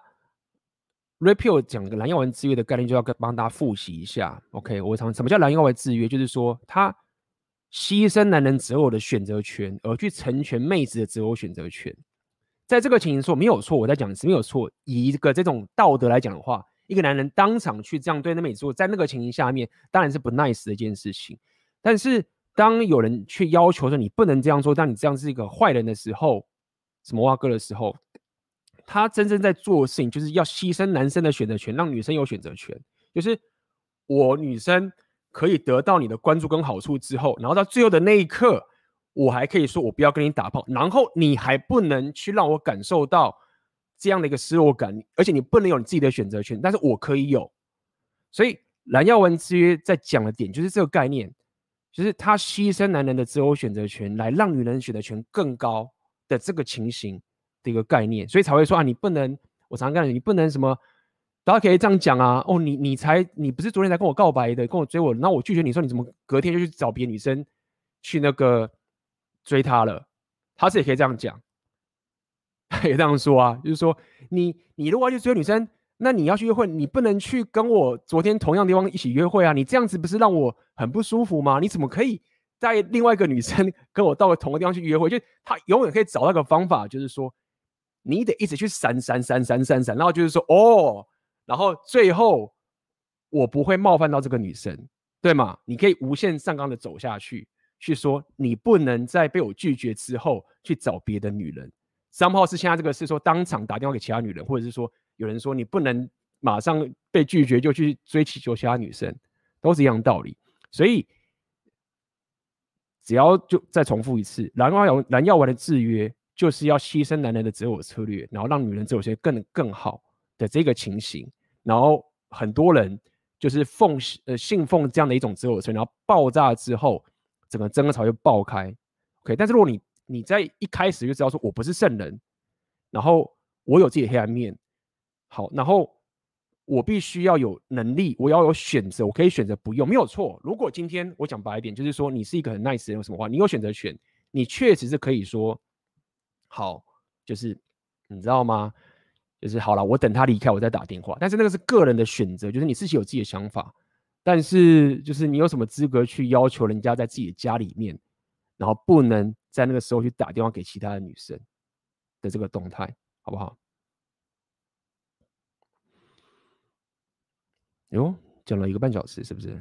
Repeal 讲个蓝药丸制约的概念，就要帮大家复习一下。OK， 什么叫蓝药丸制约？就是说他牺牲男人择偶的选择权，而去成全妹子的择偶选择权。在这个情形说没有错，我在讲是没有错。以一个这种道德来讲的话，一个男人当场去这样对那妹子做，在那个情形下面，当然是不 nice 的一件事情。但是当有人去要求说你不能这样做，当你这样是一个坏人的时候，什么蛙哥的时候，他真正在做的事情就是要牺牲男生的选择权，让女生有选择权。就是我女生可以得到你的关注跟好处之后，然后到最后的那一刻，我还可以说我不要跟你打炮，然后你还不能去让我感受到这样的一个失落感，而且你不能有你自己的选择权，但是我可以有。所以蓝药丸制约在讲的点就是这个概念，就是他牺牲男人的择偶选择权来让女人选择权更高的这个情形的一个概念，所以才会说你不能，我常常跟你不能什么，大家可以这样讲啊，你不是昨天才跟我告白的，跟我追我，然后我拒绝你说你怎么隔天就去找别的女生去那个追她了，他是也可以这样讲，可以这样说啊，就是说你如果要去追女生，那你要去约会，你不能去跟我昨天同样的地方一起约会啊，你这样子不是让我很不舒服吗？你怎么可以带另外一个女生跟我到同个地方去约会？就他永远可以找到一个方法，就是说你得一直去闪，然后就是说然后最后我不会冒犯到这个女生，对吗？你可以无限上纲的走下去，去说你不能在被我拒绝之后去找别的女人。somehow是现在这个是说当场打电话给其他女人，或者是说有人说你不能马上被拒绝就去追求其他女生，都是一样的道理。所以只要就再重复一次，蓝药丸的制约就是要牺牲男人的择偶策略，然后让女人择偶策略更好的这个情形， 然后很多人就是信奉这样的一种自我然后爆炸之后，整个争吵就爆开。OK， 但是如果你在一开始就知道说我不是圣人，然后我有自己的黑暗面，好，然后我必须要有能力，我要有选择，我可以选择不用，没有错。如果今天我讲白一点，就是说你是一个很 nice 的人，有什么话，你有选择权，你确实是可以说，好，就是你知道吗？就是好了，我等他离开，我再打电话。但是那个是个人的选择，就是你自己有自己的想法。但是就是你有什么资格去要求人家在自己的家里面，然后不能在那个时候去打电话给其他的女生的这个动态，好不好？哟，讲了1个半小时，是不是？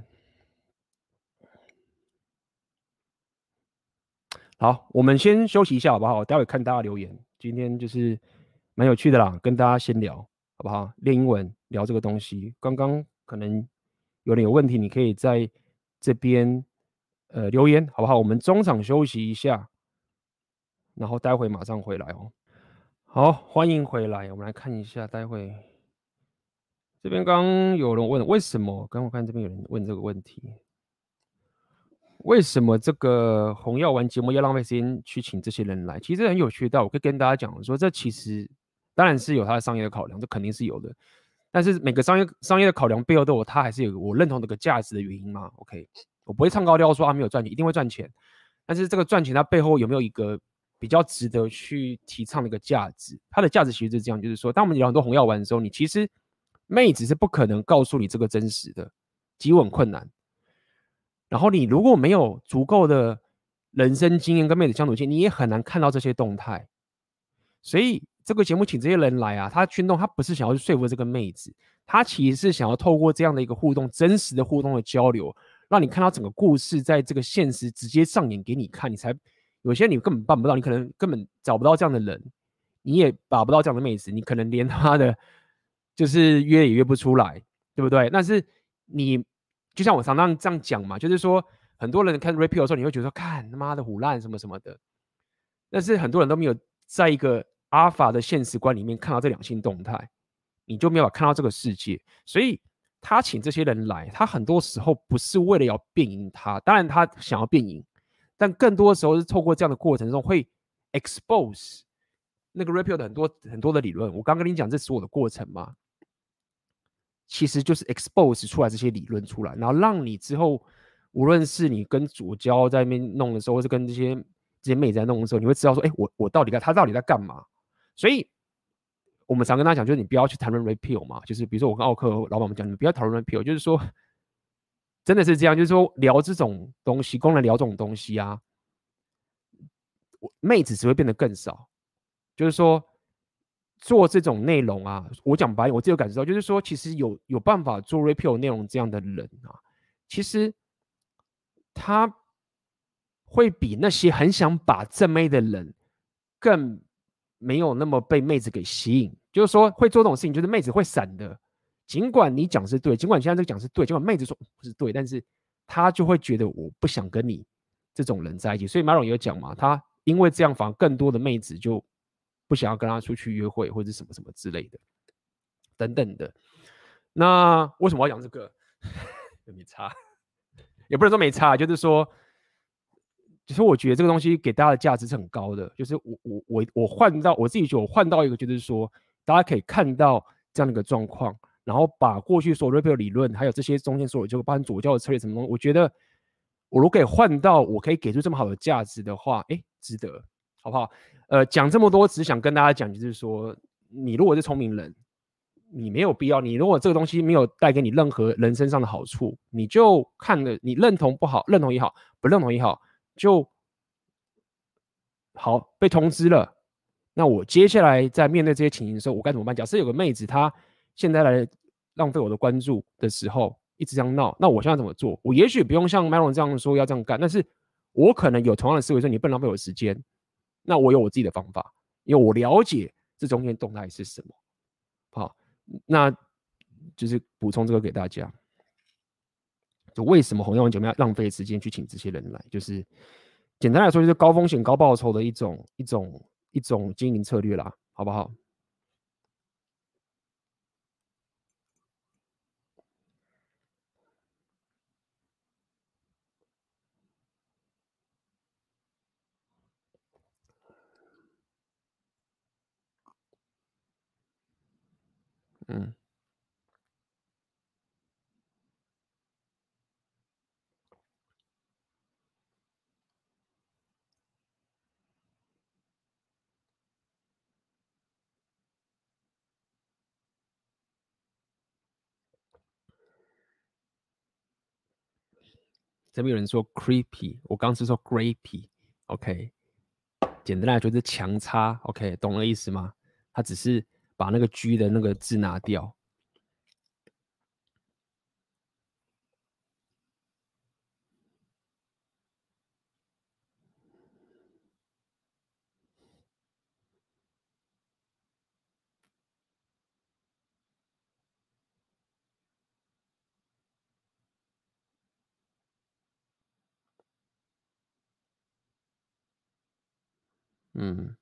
好，我们先休息一下，好不好？待会看大家留言。今天就是蛮有趣的啦，跟大家先聊，好不好？练英文，聊这个东西。刚刚可能有人有问题，你可以在这边留言，好不好？我们中场休息一下，然后待会马上回来哦。好，欢迎回来。我们来看一下，待会这边刚有人问为什么？刚我看这边有人问这个问题。为什么这个红药丸节目要浪费时间去请这些人来？其实很有趣的，我可以跟大家讲说，这其实当然是有它的商业的考量，这肯定是有的。但是每个商业的考量背后都有它还是有我认同这个价值的原因嘛 ？OK， 我不会唱高调说没有赚钱，一定会赚钱。但是这个赚钱它背后有没有一个比较值得去提倡的一个价值？它的价值其实是这样，就是说，当我们聊很多红药丸的时候，你其实妹子是不可能告诉你这个真实的，极为困难。然后你如果没有足够的人生经验跟妹子相处经验，你也很难看到这些动态。所以这个节目请这些人来啊，他去弄，他不是想要去说服这个妹子，他其实是想要透过这样的一个互动，真实的互动的交流，让你看到整个故事在这个现实直接上演给你看，你才有些你根本办不到，你可能根本找不到这样的人，你也把不到这样的妹子，你可能连他的就是约也约不出来，对不对？但是你就像我常常这样讲嘛，就是说很多人看 repeal 的时候，你会觉得说看他妈的唬烂什么什么的，但是很多人都没有在一个阿法的现实观里面看到这两性动态，你就没有办法看到这个世界。所以他请这些人来，他很多时候不是为了要辩赢他，当然他想要辩赢，但更多的时候是透过这样的过程中会 expose 那个 repeal 的很多的理论。我刚跟你讲这是我的过程嘛，其实就是 expose 出来这些理论出来，然后让你之后无论是你跟左交在那边弄的时候，或是跟这些妹在弄的时候，你会知道说，我到底他到底在干嘛？所以我们常跟他讲，就是你不要去谈论 repeal 嘛，就是比如说我跟奥克老板们讲，你不要讨论 repeal， 就是说真的是这样，就是说聊这种东西，公然聊这种东西啊，妹子只会变得更少。就是说做这种内容啊，我讲白，我自己有感受到，就是说其实有办法做 repeal 内容这样的人啊，其实他会比那些很想把正妹的人更没有那么被妹子给吸引。就是说会做这种事情，就是妹子会闪的。尽管你讲是对，尽管现在这个讲是对，尽管妹子说不是对，但是他就会觉得我不想跟你这种人在一起。所以 Maron 也有讲嘛，他因为这样反而更多的妹子就不想要跟他出去约会或者什么什么之类的等等的。那为什么要讲这个？没差，也不能说没差，就是说，就是我觉得这个东西给大家的价值是很高的。就是我换到我自己觉得我换到一个，就是说大家可以看到这样的一个状况，然后把过去所有 repeal 理论，还有这些中间所有就包含左教的策略什么东西，我觉得我如果可以换到我可以给出这么好的价值的话，值得，好不好？讲这么多，只想跟大家讲，就是说，你如果是聪明人，你没有必要，你如果这个东西没有带给你任何人身上的好处，你就看了，你认同不好，认同也好，不认同也好，就好被通知了。那我接下来在面对这些情形的时候，我该怎么办？假设有个妹子她现在来浪费我的关注的时候，一直这样闹，那我现在怎么做？我也许不用像 Maron 这样说要这样干，但是我可能有同样的思维，说你不能浪费我的时间。那我有我自己的方法，因为我了解这中间动态是什么。好，那就是补充这个给大家。就为什么红药丸节目要浪费时间去请这些人来？就是简单来说，就是高风险高报酬的一种经营策略啦，好不好？ 嗯。这边有人说 creepy， 我刚是说 grapey，OK，、简单来说就是强插 ，OK， 懂了意思吗？他只是把那个 G 的那个字拿掉。嗯。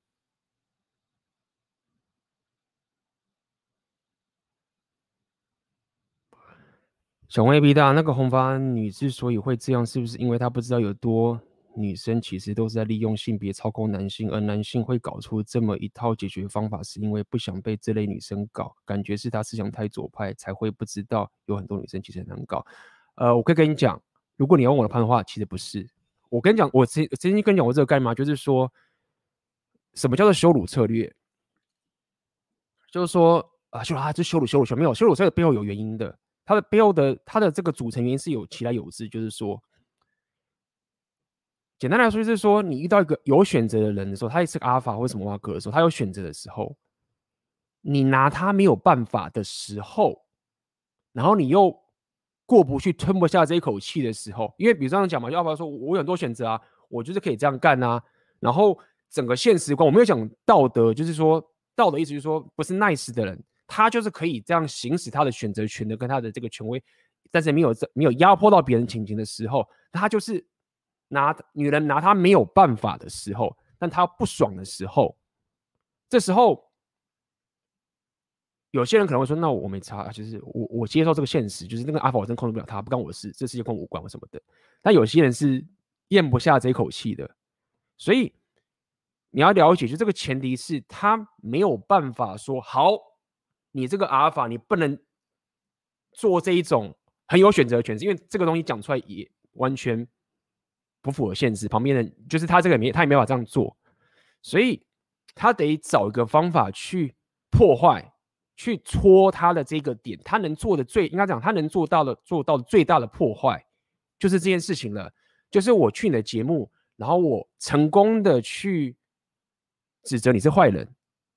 小问 A B 大，那个红发女之所以会这样，是不是因为她不知道有多女生其实都是在利用性别操控男性，而男性会搞出这么一套解决方法，是因为不想被这类女生搞，感觉是他思想太左派，才会不知道有很多女生其实很难搞。我可以跟你讲，如果你要问我的判断的话，其实不是。我跟你讲，我曾经跟你讲过这个概念吗？就是说，什么叫做羞辱策略？就是说这羞辱没有，羞辱策略背后有原因的。它的背后的它的这个组成原因是有其来有自，就是说，简单来说就是说，你遇到一个有选择的人的时候，他也是个阿尔法或什么瓦格的时候，他有选择的时候，你拿他没有办法的时候，然后你又过不去、吞不下这一口气的时候，因为比如这样讲嘛，就阿尔法说我有很多选择啊，我就是可以这样干啊，然后整个现实观，我没有讲道德，就是说道德意思就是说不是 nice 的人。他就是可以这样行使他的选择权的跟他的这个权威，但是没有压迫到别人情形的时候，他就是女人拿他没有办法的时候，但他不爽的时候，这时候有些人可能会说，那我没差，就是我接受这个现实，就是那个阿法我真控制不了他，不干我的事，这世界跟我无关或什么的。但有些人是咽不下这一口气的，所以你要了解，就这个前提是他没有办法说好。你这个阿尔法，你不能做这一种很有选择的权势，因为这个东西讲出来也完全不符合现实。旁边人就是他这个他也没法这样做，所以他得找一个方法去破坏、去戳他的这个点。他能做的应该讲，他能做到的最大的破坏，就是这件事情了。就是我去你的节目，然后我成功的去指责你是坏人。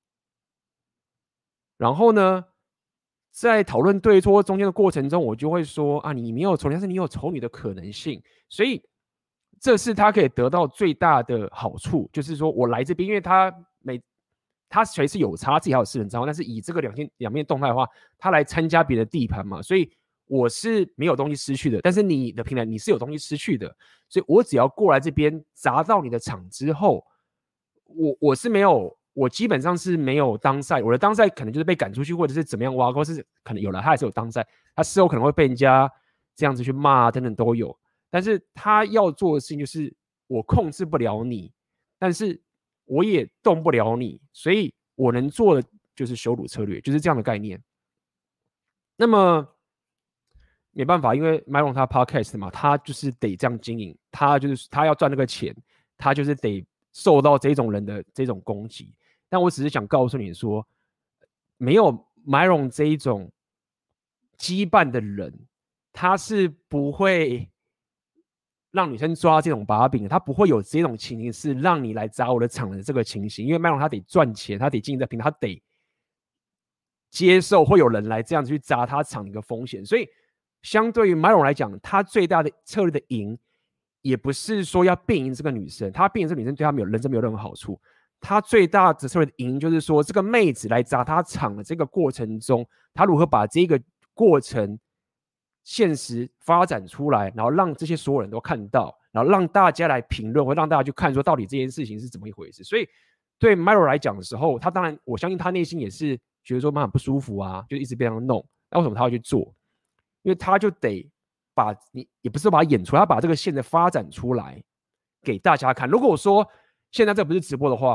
然后呢，在讨论对错中间的过程中，我就会说啊，你没有丑女，但是你有丑女的可能性，所以这是他可以得到最大的好处，就是说我来这边，因为他随时有差，自己还有私人账号，但是以这个两面动态的话，他来参加别的地盘嘛，所以我是没有东西失去的，但是你的平台你是有东西失去的，所以我只要过来这边砸到你的场之后，我是没有。我基本上是没有当赛，我的当赛可能就是被赶出去，或者是怎么样挖，或是可能有了，他还是有当赛，他事后可能会被人家这样子去骂等等都有。但是他要做的事情就是我控制不了你，但是我也动不了你，所以我能做的就是羞辱策略，就是这样的概念。那么没办法，因为 Myron 他 podcast 嘛，他就是得这样经营，他要赚那个钱，他就是得受到这种人的这种攻击。但我只是想告诉你说，没有 Myron 这一种羁绊的人，他是不会让女生抓这种把柄的，他不会有这种情形是让你来砸我的场的这个情形，因为 Myron 他得赚钱，他得经营在平台，他得接受会有人来这样子去砸他场的一个风险，所以相对于 Myron 来讲，他最大的策略的赢，也不是说要变赢这个女生，他变赢这个女生对他人生没有任何好处。他最大的策略的赢就是说，这个妹子来砸他场的这个过程中，他如何把这个过程现实发展出来，然后让这些所有人都看到，然后让大家来评论，或让大家去看说到底这件事情是怎么一回事。所以对 Myron 来讲的时候，他当然我相信他内心也是觉得说蛮不舒服啊，就一直被他弄。那为什么他要去做？因为他就得把你也不是把它演出来，他把这个线的发展出来给大家看。如果我说现在这不是直播的话，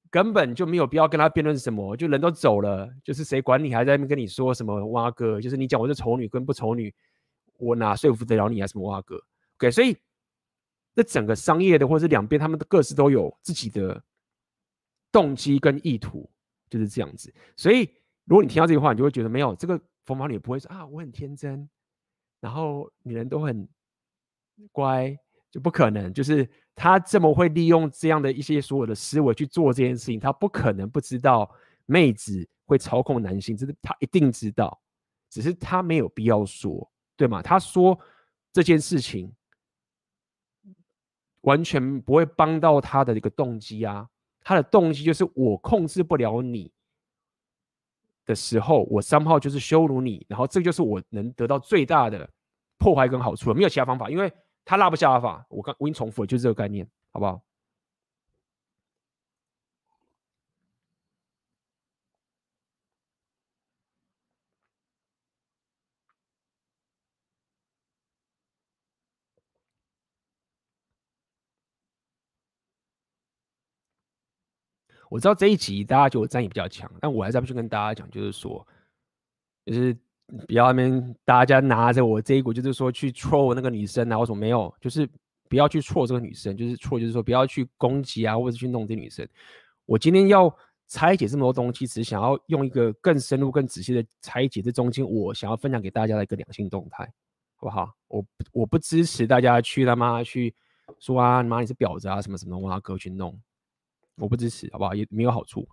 根本就没有必要跟他辩论什么，就人都走了，就是谁管你还在那边跟你说什么蛙哥，就是你讲我是丑女跟不丑女，我哪说服得了你啊？什么蛙哥 ？OK， 所以这整个商业的或者是两边他们各自都有自己的动机跟意图，就是这样子。所以如果你听到这句话，你就会觉得没有这个冯宝女不会说啊我很天真，然后女人都很乖。就不可能，就是他这么会利用这样的一些所有的思维去做这件事情，他不可能不知道妹子会操控男性，这是他一定知道，只是他没有必要说，对吗？他说这件事情完全不会帮到他的一个动机啊，他的动机就是我控制不了你的时候，我somehow就是羞辱你，然后这就是我能得到最大的破坏跟好处了，没有其他方法，因为他拉不下法，我已经重复了，就是这个概念，好不好？我知道这一集大家觉得我战力比较强，但我还是要去跟大家讲，就是说，就是不要那边大家拿着我这一股，就是说去 troll 那个女生啊，或什么没有，就是不要去 troll 这个女生，就是 troll 就是说不要去攻击啊，或者去弄这女生。我今天要拆解这么多东西，只是想要用一个更深入、更仔细的拆解这中间我想要分享给大家的一个两性动态，好不好？我不支持大家去他妈去说啊，妈你是婊子啊，什么什么哇哥去弄。我不支持，好不好？也没有好处。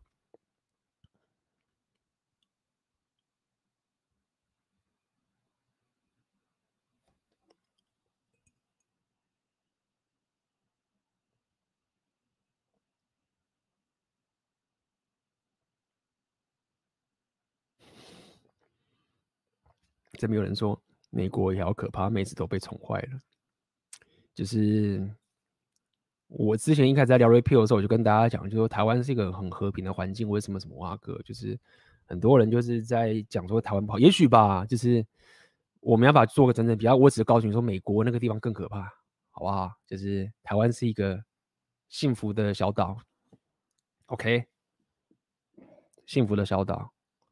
这边有人说美国也好可怕，妹子都被宠坏了。就是我之前一开始在聊 repeal 的时候，我就跟大家讲，就说台湾是一个很和平的环境，为什么什么蛙哥，就是很多人就是在讲说台湾不好，也许吧，就是我没办法做个真正比较，我只是告诉你说美国那个地方更可怕，好不好？就是台湾是一个幸福的小岛 ，OK， 幸福的小岛。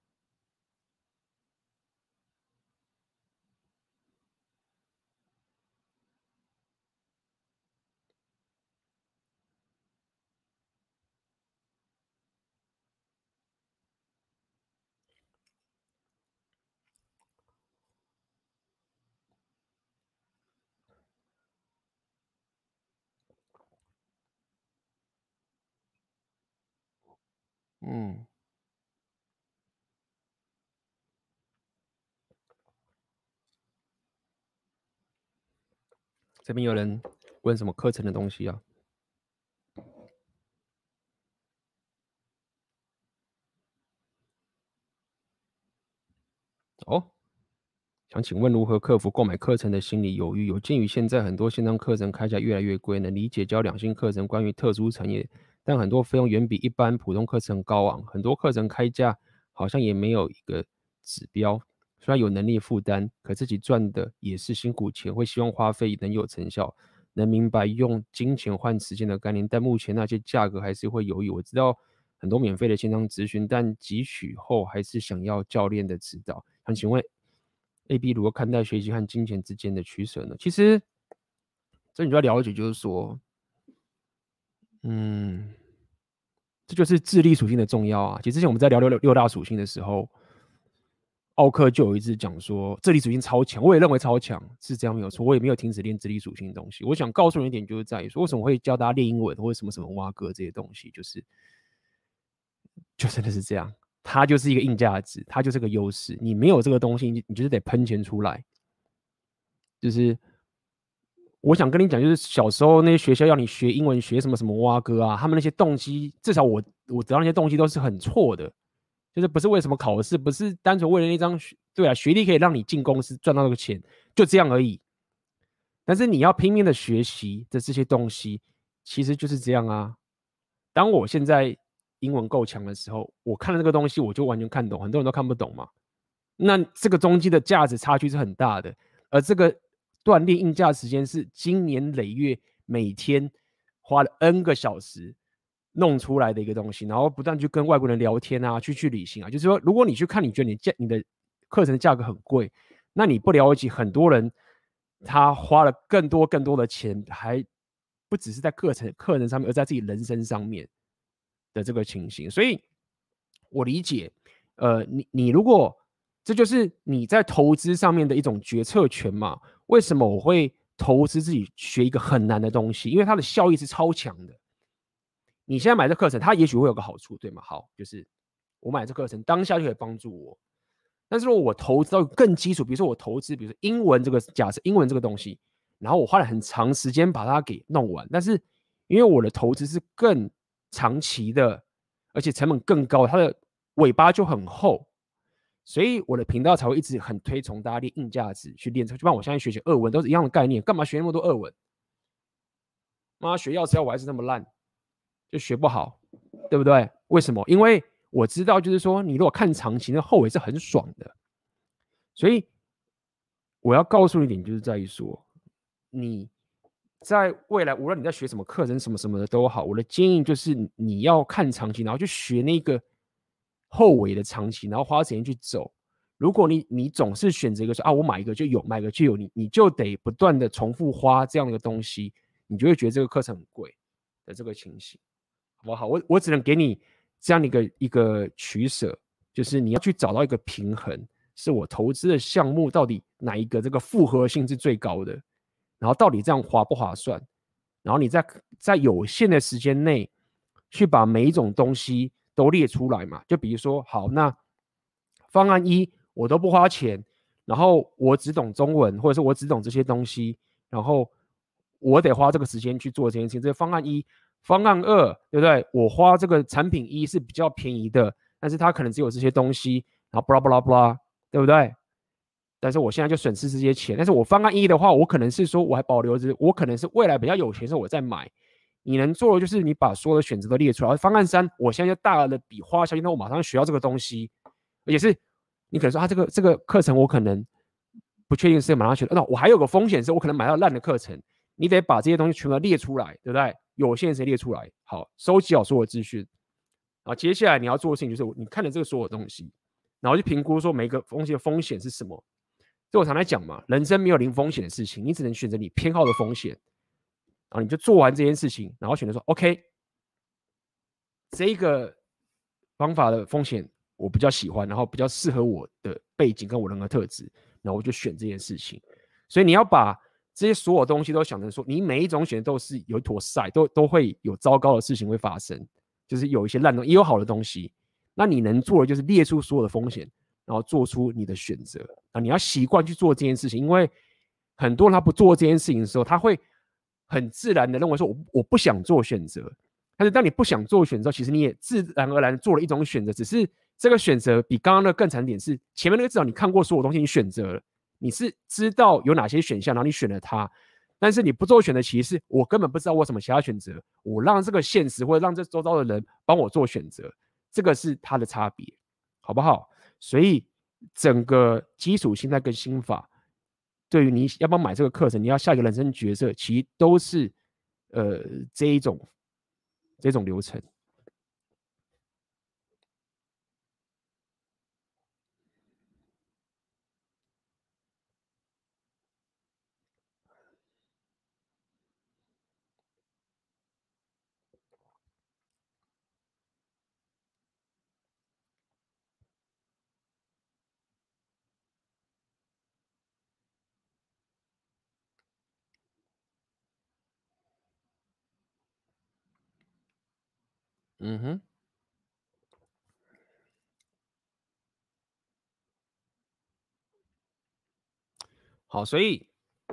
这边有人问什么课程的东西啊？哦，想请问如何克服购买课程的心理犹豫？有鉴于现在很多线上课程开价越来越贵，能理解教两性课程关于特殊产业，但很多费用远比一般普通课程高昂，很多课程开价好像也没有一个指标。虽然有能力负担，可自己赚的也是辛苦钱，会希望花费能有成效，能明白用金钱换时间的概念，但目前那些价格还是会犹豫。我知道很多免费的线上咨询，但汲取后还是想要教练的指导。想请问 AB 如何看待学习和金钱之间的取舍呢？其实这你就要了解，就是说，这就是智力属性的重要啊。其实之前我们在聊六大属性的时候，奥克就有一次讲说智力属性超强，我也认为超强，是这样没有错，我也没有停止练智力属性的东西。我想告诉你一点，就是在于说，为什么会教大家练英文或者什么什么蛙哥这些东西，就真的是这样。它就是一个硬价值，它就是个优势。你没有这个东西，你就是得喷钱出来。就是我想跟你讲，就是小时候那些学校要你学英文，学什么什么蛙哥啊，他们那些动机，至少我得到那些动机都是很错的。就是不是为什么考试，不是单纯为了那张对啊，学历可以让你进公司赚到那个钱，就这样而已。但是你要拼命的学习的这些东西，其实就是这样啊。当我现在英文够强的时候，我看了这个东西，我就完全看懂，很多人都看不懂嘛。那这个中间的价值差距是很大的，而这个锻炼硬价时间是经年累月，每天花了 N 个小时弄出来的一个东西，然后不断去跟外国人聊天啊，去旅行啊。就是说，如果你去看，你觉得你的课程的价格很贵，那你不了解很多人他花了更多的钱，还不只是在课程上面，而在自己人生上面的这个情形。所以我理解，你如果这就是你在投资上面的一种决策权嘛？为什么我会投资自己学一个很难的东西？因为它的效益是超强的。你现在买这课程，它也许会有个好处，对吗？好，就是我买这课程当下就可以帮助我。但是如果我投资到更基础，比如说我投资，比如说英文这个假设英文这个东西，然后我花了很长时间把它给弄完，但是因为我的投资是更长期的，而且成本更高，它的尾巴就很厚，所以我的频道才会一直很推崇大家练硬价值去练。就像我现在学俄文都是一样的概念，干嘛学那么多俄文？妈学药师我还是那么烂，就学不好，对不对？为什么？因为我知道，就是说，你如果看长期，那后尾是很爽的。所以我要告诉你一点，就是在于说，你在未来，无论你在学什么课程、什么什么的都好，我的建议就是你要看长期，然后去学那个后尾的长期，然后花时间去走。如果你总是选择一个说啊，我买一个就有，买一个就有，你就得不断的重复花这样的东西，你就会觉得这个课程很贵的这个情形，好不好？我只能给你这样的一个取舍，就是你要去找到一个平衡，是我投资的项目到底哪一个这个复合性是最高的，然后到底这样划不划算，然后你在有限的时间内去把每一种东西都列出来嘛。就比如说，好，那方案一我都不花钱，然后我只懂中文，或者是我只懂这些东西，然后我得花这个时间去做这件事情，这是方案一。方案二，对不对？我花这个产品一是比较便宜的，但是它可能只有这些东西，然后巴拉巴拉巴拉，对不对？但是我现在就损失这些钱。但是我方案一的话，我可能是说我还保留着，我可能是未来比较有钱的时候我再买。你能做的就是你把所有的选择都列出来。方案三，我现在就大额的笔花下去，那我马上学到这个东西，而且是你可能说这个课程我可能不确定是马上学的，那我还有个风险是我可能买到烂的课程，你得把这些东西全部列出来，对不对？有限时间列出来，好，收集好所有资讯，然后接下来你要做的事情就是你看了这个所有东西，然后去评估说每个东西的风险是什么。这我常来讲嘛，人生没有零风险的事情，你只能选择你偏好的风险，然后你就做完这件事情，然后选择说 OK， 这个方法的风险我比较喜欢，然后比较适合我的背景跟我人格特质，然后我就选这件事情。所以你要把这些所有东西都想成说，你每一种选择都是有一坨塞，都会有糟糕的事情会发生，就是有一些烂东西，也有好的东西。那你能做的就是列出所有的风险，然后做出你的选择。你要习惯去做这件事情，因为很多人他不做这件事情的时候，他会很自然的认为说我不想做选择。但是当你不想做选择，其实你也自然而然做了一种选择，只是这个选择比刚刚的更惨点是，前面那个至少你看过所有东西，你选择了，你是知道有哪些选项，然后你选了它。但是你不做选择，其实是我根本不知道我什么其他选择，我让这个现实或者让这周遭的人帮我做选择，这个是它的差别，好不好？所以整个基础心态跟心法，对于你要不要买这个课程，你要下一个人生角色，其实都是这一种流程。嗯哼，好，所以，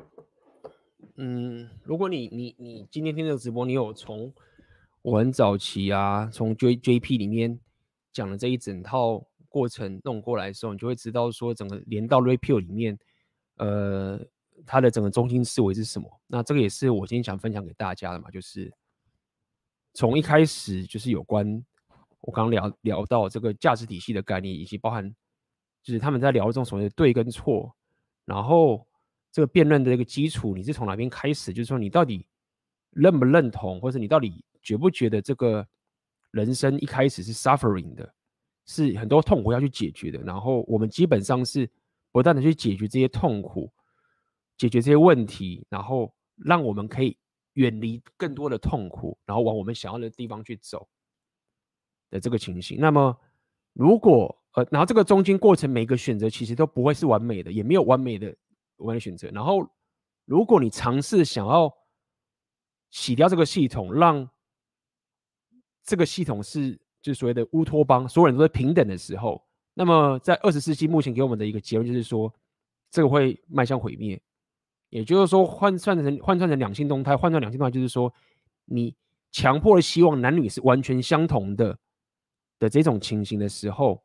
如果你今天听这个直播，你有从我很早期啊，从 JP 里面讲的这一整套过程弄过来的时候，你就会知道说，整个连到 Repeal 里面，它的整个中心思维是什么。那这个也是我今天想分享给大家的嘛，就是从一开始就是有关我刚刚聊到这个价值体系的概念，以及包含就是他们在聊这种所谓的对跟错，然后这个辩论的一个基础，你是从哪边开始？就是说你到底认不认同，或者你到底觉不觉得这个人生一开始是 suffering 的，是很多痛苦要去解决的，然后我们基本上是不断的去解决这些痛苦，解决这些问题，然后让我们可以远离更多的痛苦，然后往我们想要的地方去走的这个情形。那么如果然后这个中间过程每个选择其实都不会是完美的，也没有完美的选择。然后如果你尝试想要洗掉这个系统，让这个系统是就是所谓的乌托邦，所有人都是平等的时候，那么在20世纪目前给我们的一个结论就是说，这个会迈向毁灭。也就是说，换算成两性动态，换算两性动态就是说，你强迫的希望男女是完全相同的这种情形的时候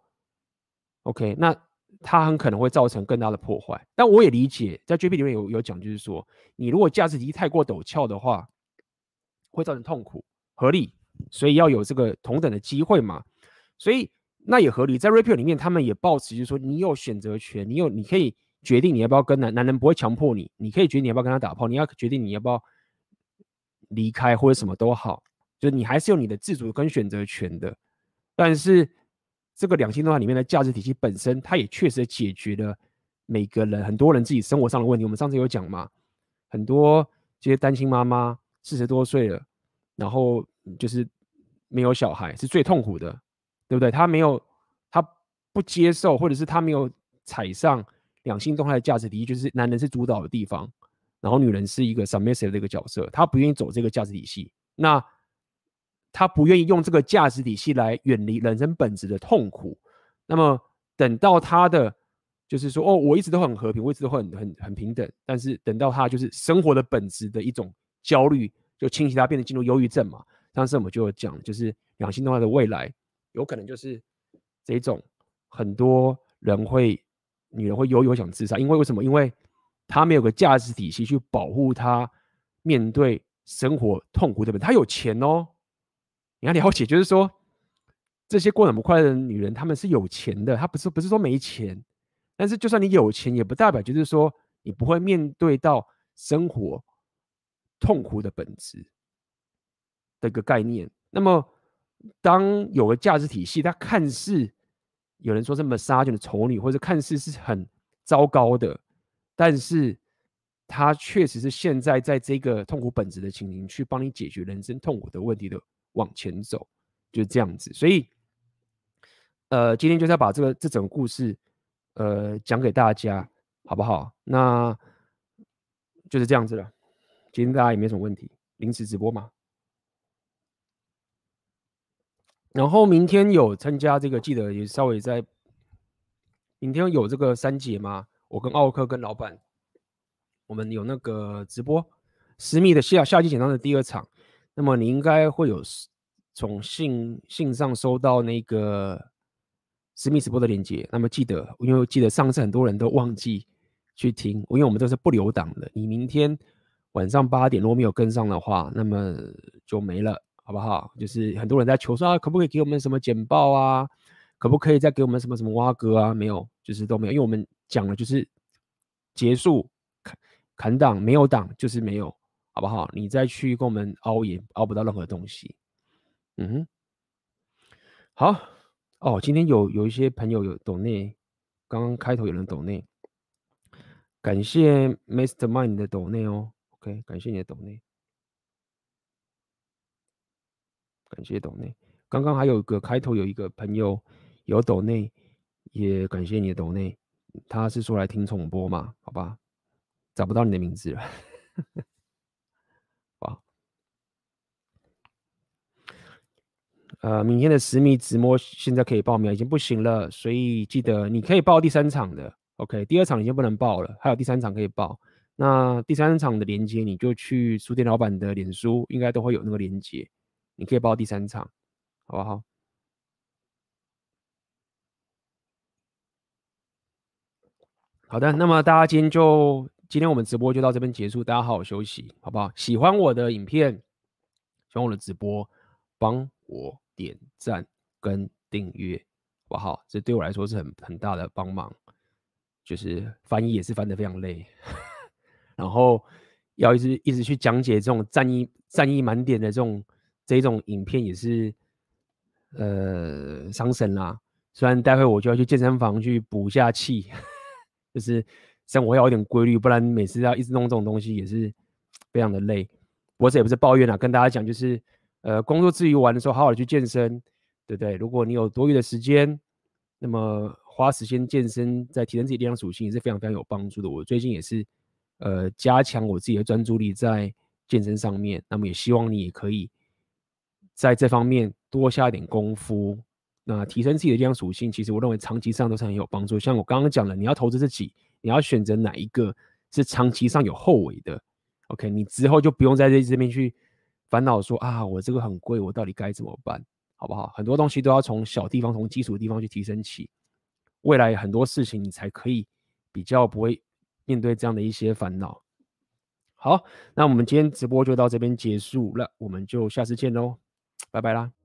，OK， 那它很可能会造成更大的破坏。但我也理解，在 JP 里面有讲，就是说，你如果价值体系太过陡峭的话，会造成痛苦，合理。所以要有这个同等的机会嘛，所以那也合理。在 Repeal 里面，他们也抱持就是说，你有选择权，你可以决定你要不要跟男人不会强迫你，你可以决定你要不要跟他打炮，你要决定你要不要离开或者什么都好，就是你还是有你的自主跟选择权的。但是这个两性动态里面的价值体系本身，它也确实解决了每个人很多人自己生活上的问题。我们上次有讲嘛，很多这些单亲妈妈40多岁了，然后就是没有小孩是最痛苦的，对不对？他不接受，或者是他没有踩上两性动态的价值体系，就是男人是主导的地方，然后女人是一个 submissive 的一个角色，他不愿意走这个价值体系，那他不愿意用这个价值体系来远离人生本质的痛苦。那么等到他的就是说，哦，我一直都很和平，我一直都很平等，但是等到他就是生活的本质的一种焦虑，就侵袭他，变成进入忧郁症嘛。上次我们就有讲，就是两性动态的未来有可能就是这种很多女人会忧郁想自杀，因为什么？因为他没有个价值体系去保护他面对生活痛苦的本。他有钱哦，你要了解，就是说这些过得很不快乐的女人，她们是有钱的，她不是说没钱，但是就算你有钱，也不代表就是说你不会面对到生活痛苦的本质的一个概念。那么当有个价值体系，它看似有人说是 massage 的丑女，或者看似是很糟糕的，但是它确实是现在在这个痛苦本质的情形去帮你解决人生痛苦的问题的往前走，就是这样子。所以今天就是要把这整个故事讲给大家，好不好？那就是这样子了。今天大家也没什么问题，临时直播嘛。然后明天有参加这个，记得也稍微在明天有这个3节嘛，我跟奥克跟老板，我们有那个直播私密的夏季简章的第2场，那么你应该会有从信上收到那个私密直播的链接。那么记得，因为记得上次很多人都忘记去听，因为我们这是不留档的，你明天晚上8点如果没有跟上的话，那么就没了。好不好？就是很多人在求说可不可以给我们什么简报啊？可不可以再给我们什么蛙哥啊？没有，就是都没有，因为我们讲了就是结束砍档，没有档就是没有，好不好？你再去跟我们凹也凹不到任何东西。好哦，今天有一些朋友有抖内，刚刚开头有人抖内，感谢 Mastermind 的抖内哦 ，OK， 感谢你的抖内。感谢抖内，刚刚还有一个开头有一个朋友有抖内，也感谢你的抖内，他是说来听重播嘛？好吧，找不到你的名字了，哇，明天的私密直播现在可以报名，已经不行了，所以记得你可以报第3场的 ，OK， 第2场已经不能报了，还有第3场可以报。那第3场的连结你就去书店老板的脸书，应该都会有那个连结。你可以报第3场，好不好？好的，那么大家今天我们直播就到这边结束，大家好好休息，好不好？喜欢我的影片，喜欢我的直播，帮我点赞跟订阅，好不好？这对我来说是很大的帮忙，就是翻译也是翻得非常累，然后要一直去讲解这种战意满点的这种影片，也是伤神啦。虽然待会我就要去健身房去补一下气，就是生活要有点规律，不然每次要一直弄这种东西也是非常的累。不过这也不是抱怨啦，跟大家讲就是工作之余玩的时候好好的去健身，对不对？如果你有多余的时间，那么花时间健身，在提升自己力量属性也是非常非常有帮助的。我最近也是加强我自己的专注力在健身上面，那么也希望你也可以在这方面多下一点功夫。那提升自己的力量属性，其实我认为长期上都是很有帮助。像我刚刚讲了，你要投资自己，你要选择哪一个是长期上有后尾的 ，OK， 你之后就不用在这边去烦恼说啊，我这个很贵，我到底该怎么办，好不好？很多东西都要从小地方、从基础的地方去提升起，未来很多事情你才可以比较不会面对这样的一些烦恼。好，那我们今天直播就到这边结束了，我们就下次见喽，拜拜啦！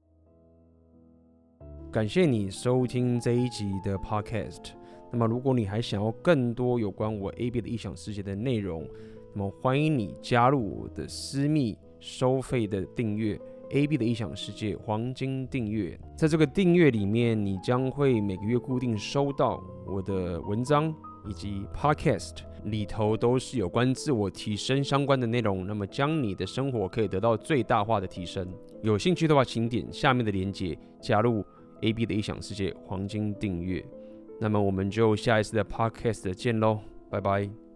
感谢你收听这一集的 Podcast。那么，如果你还想要更多有关我 AB 的异想世界的内容，那么欢迎你加入我的私密收费的订阅 AB 的异想世界黄金订阅。在这个订阅里面，你将会每个月固定收到我的文章以及 Podcast， 里头都是有关自我提升相关的内容，那么将你的生活可以得到最大化的提升。有兴趣的话，请点下面的连结加入AB 的异想世界黄金订阅。那么我们就下一次的 Podcast 见喽，拜拜。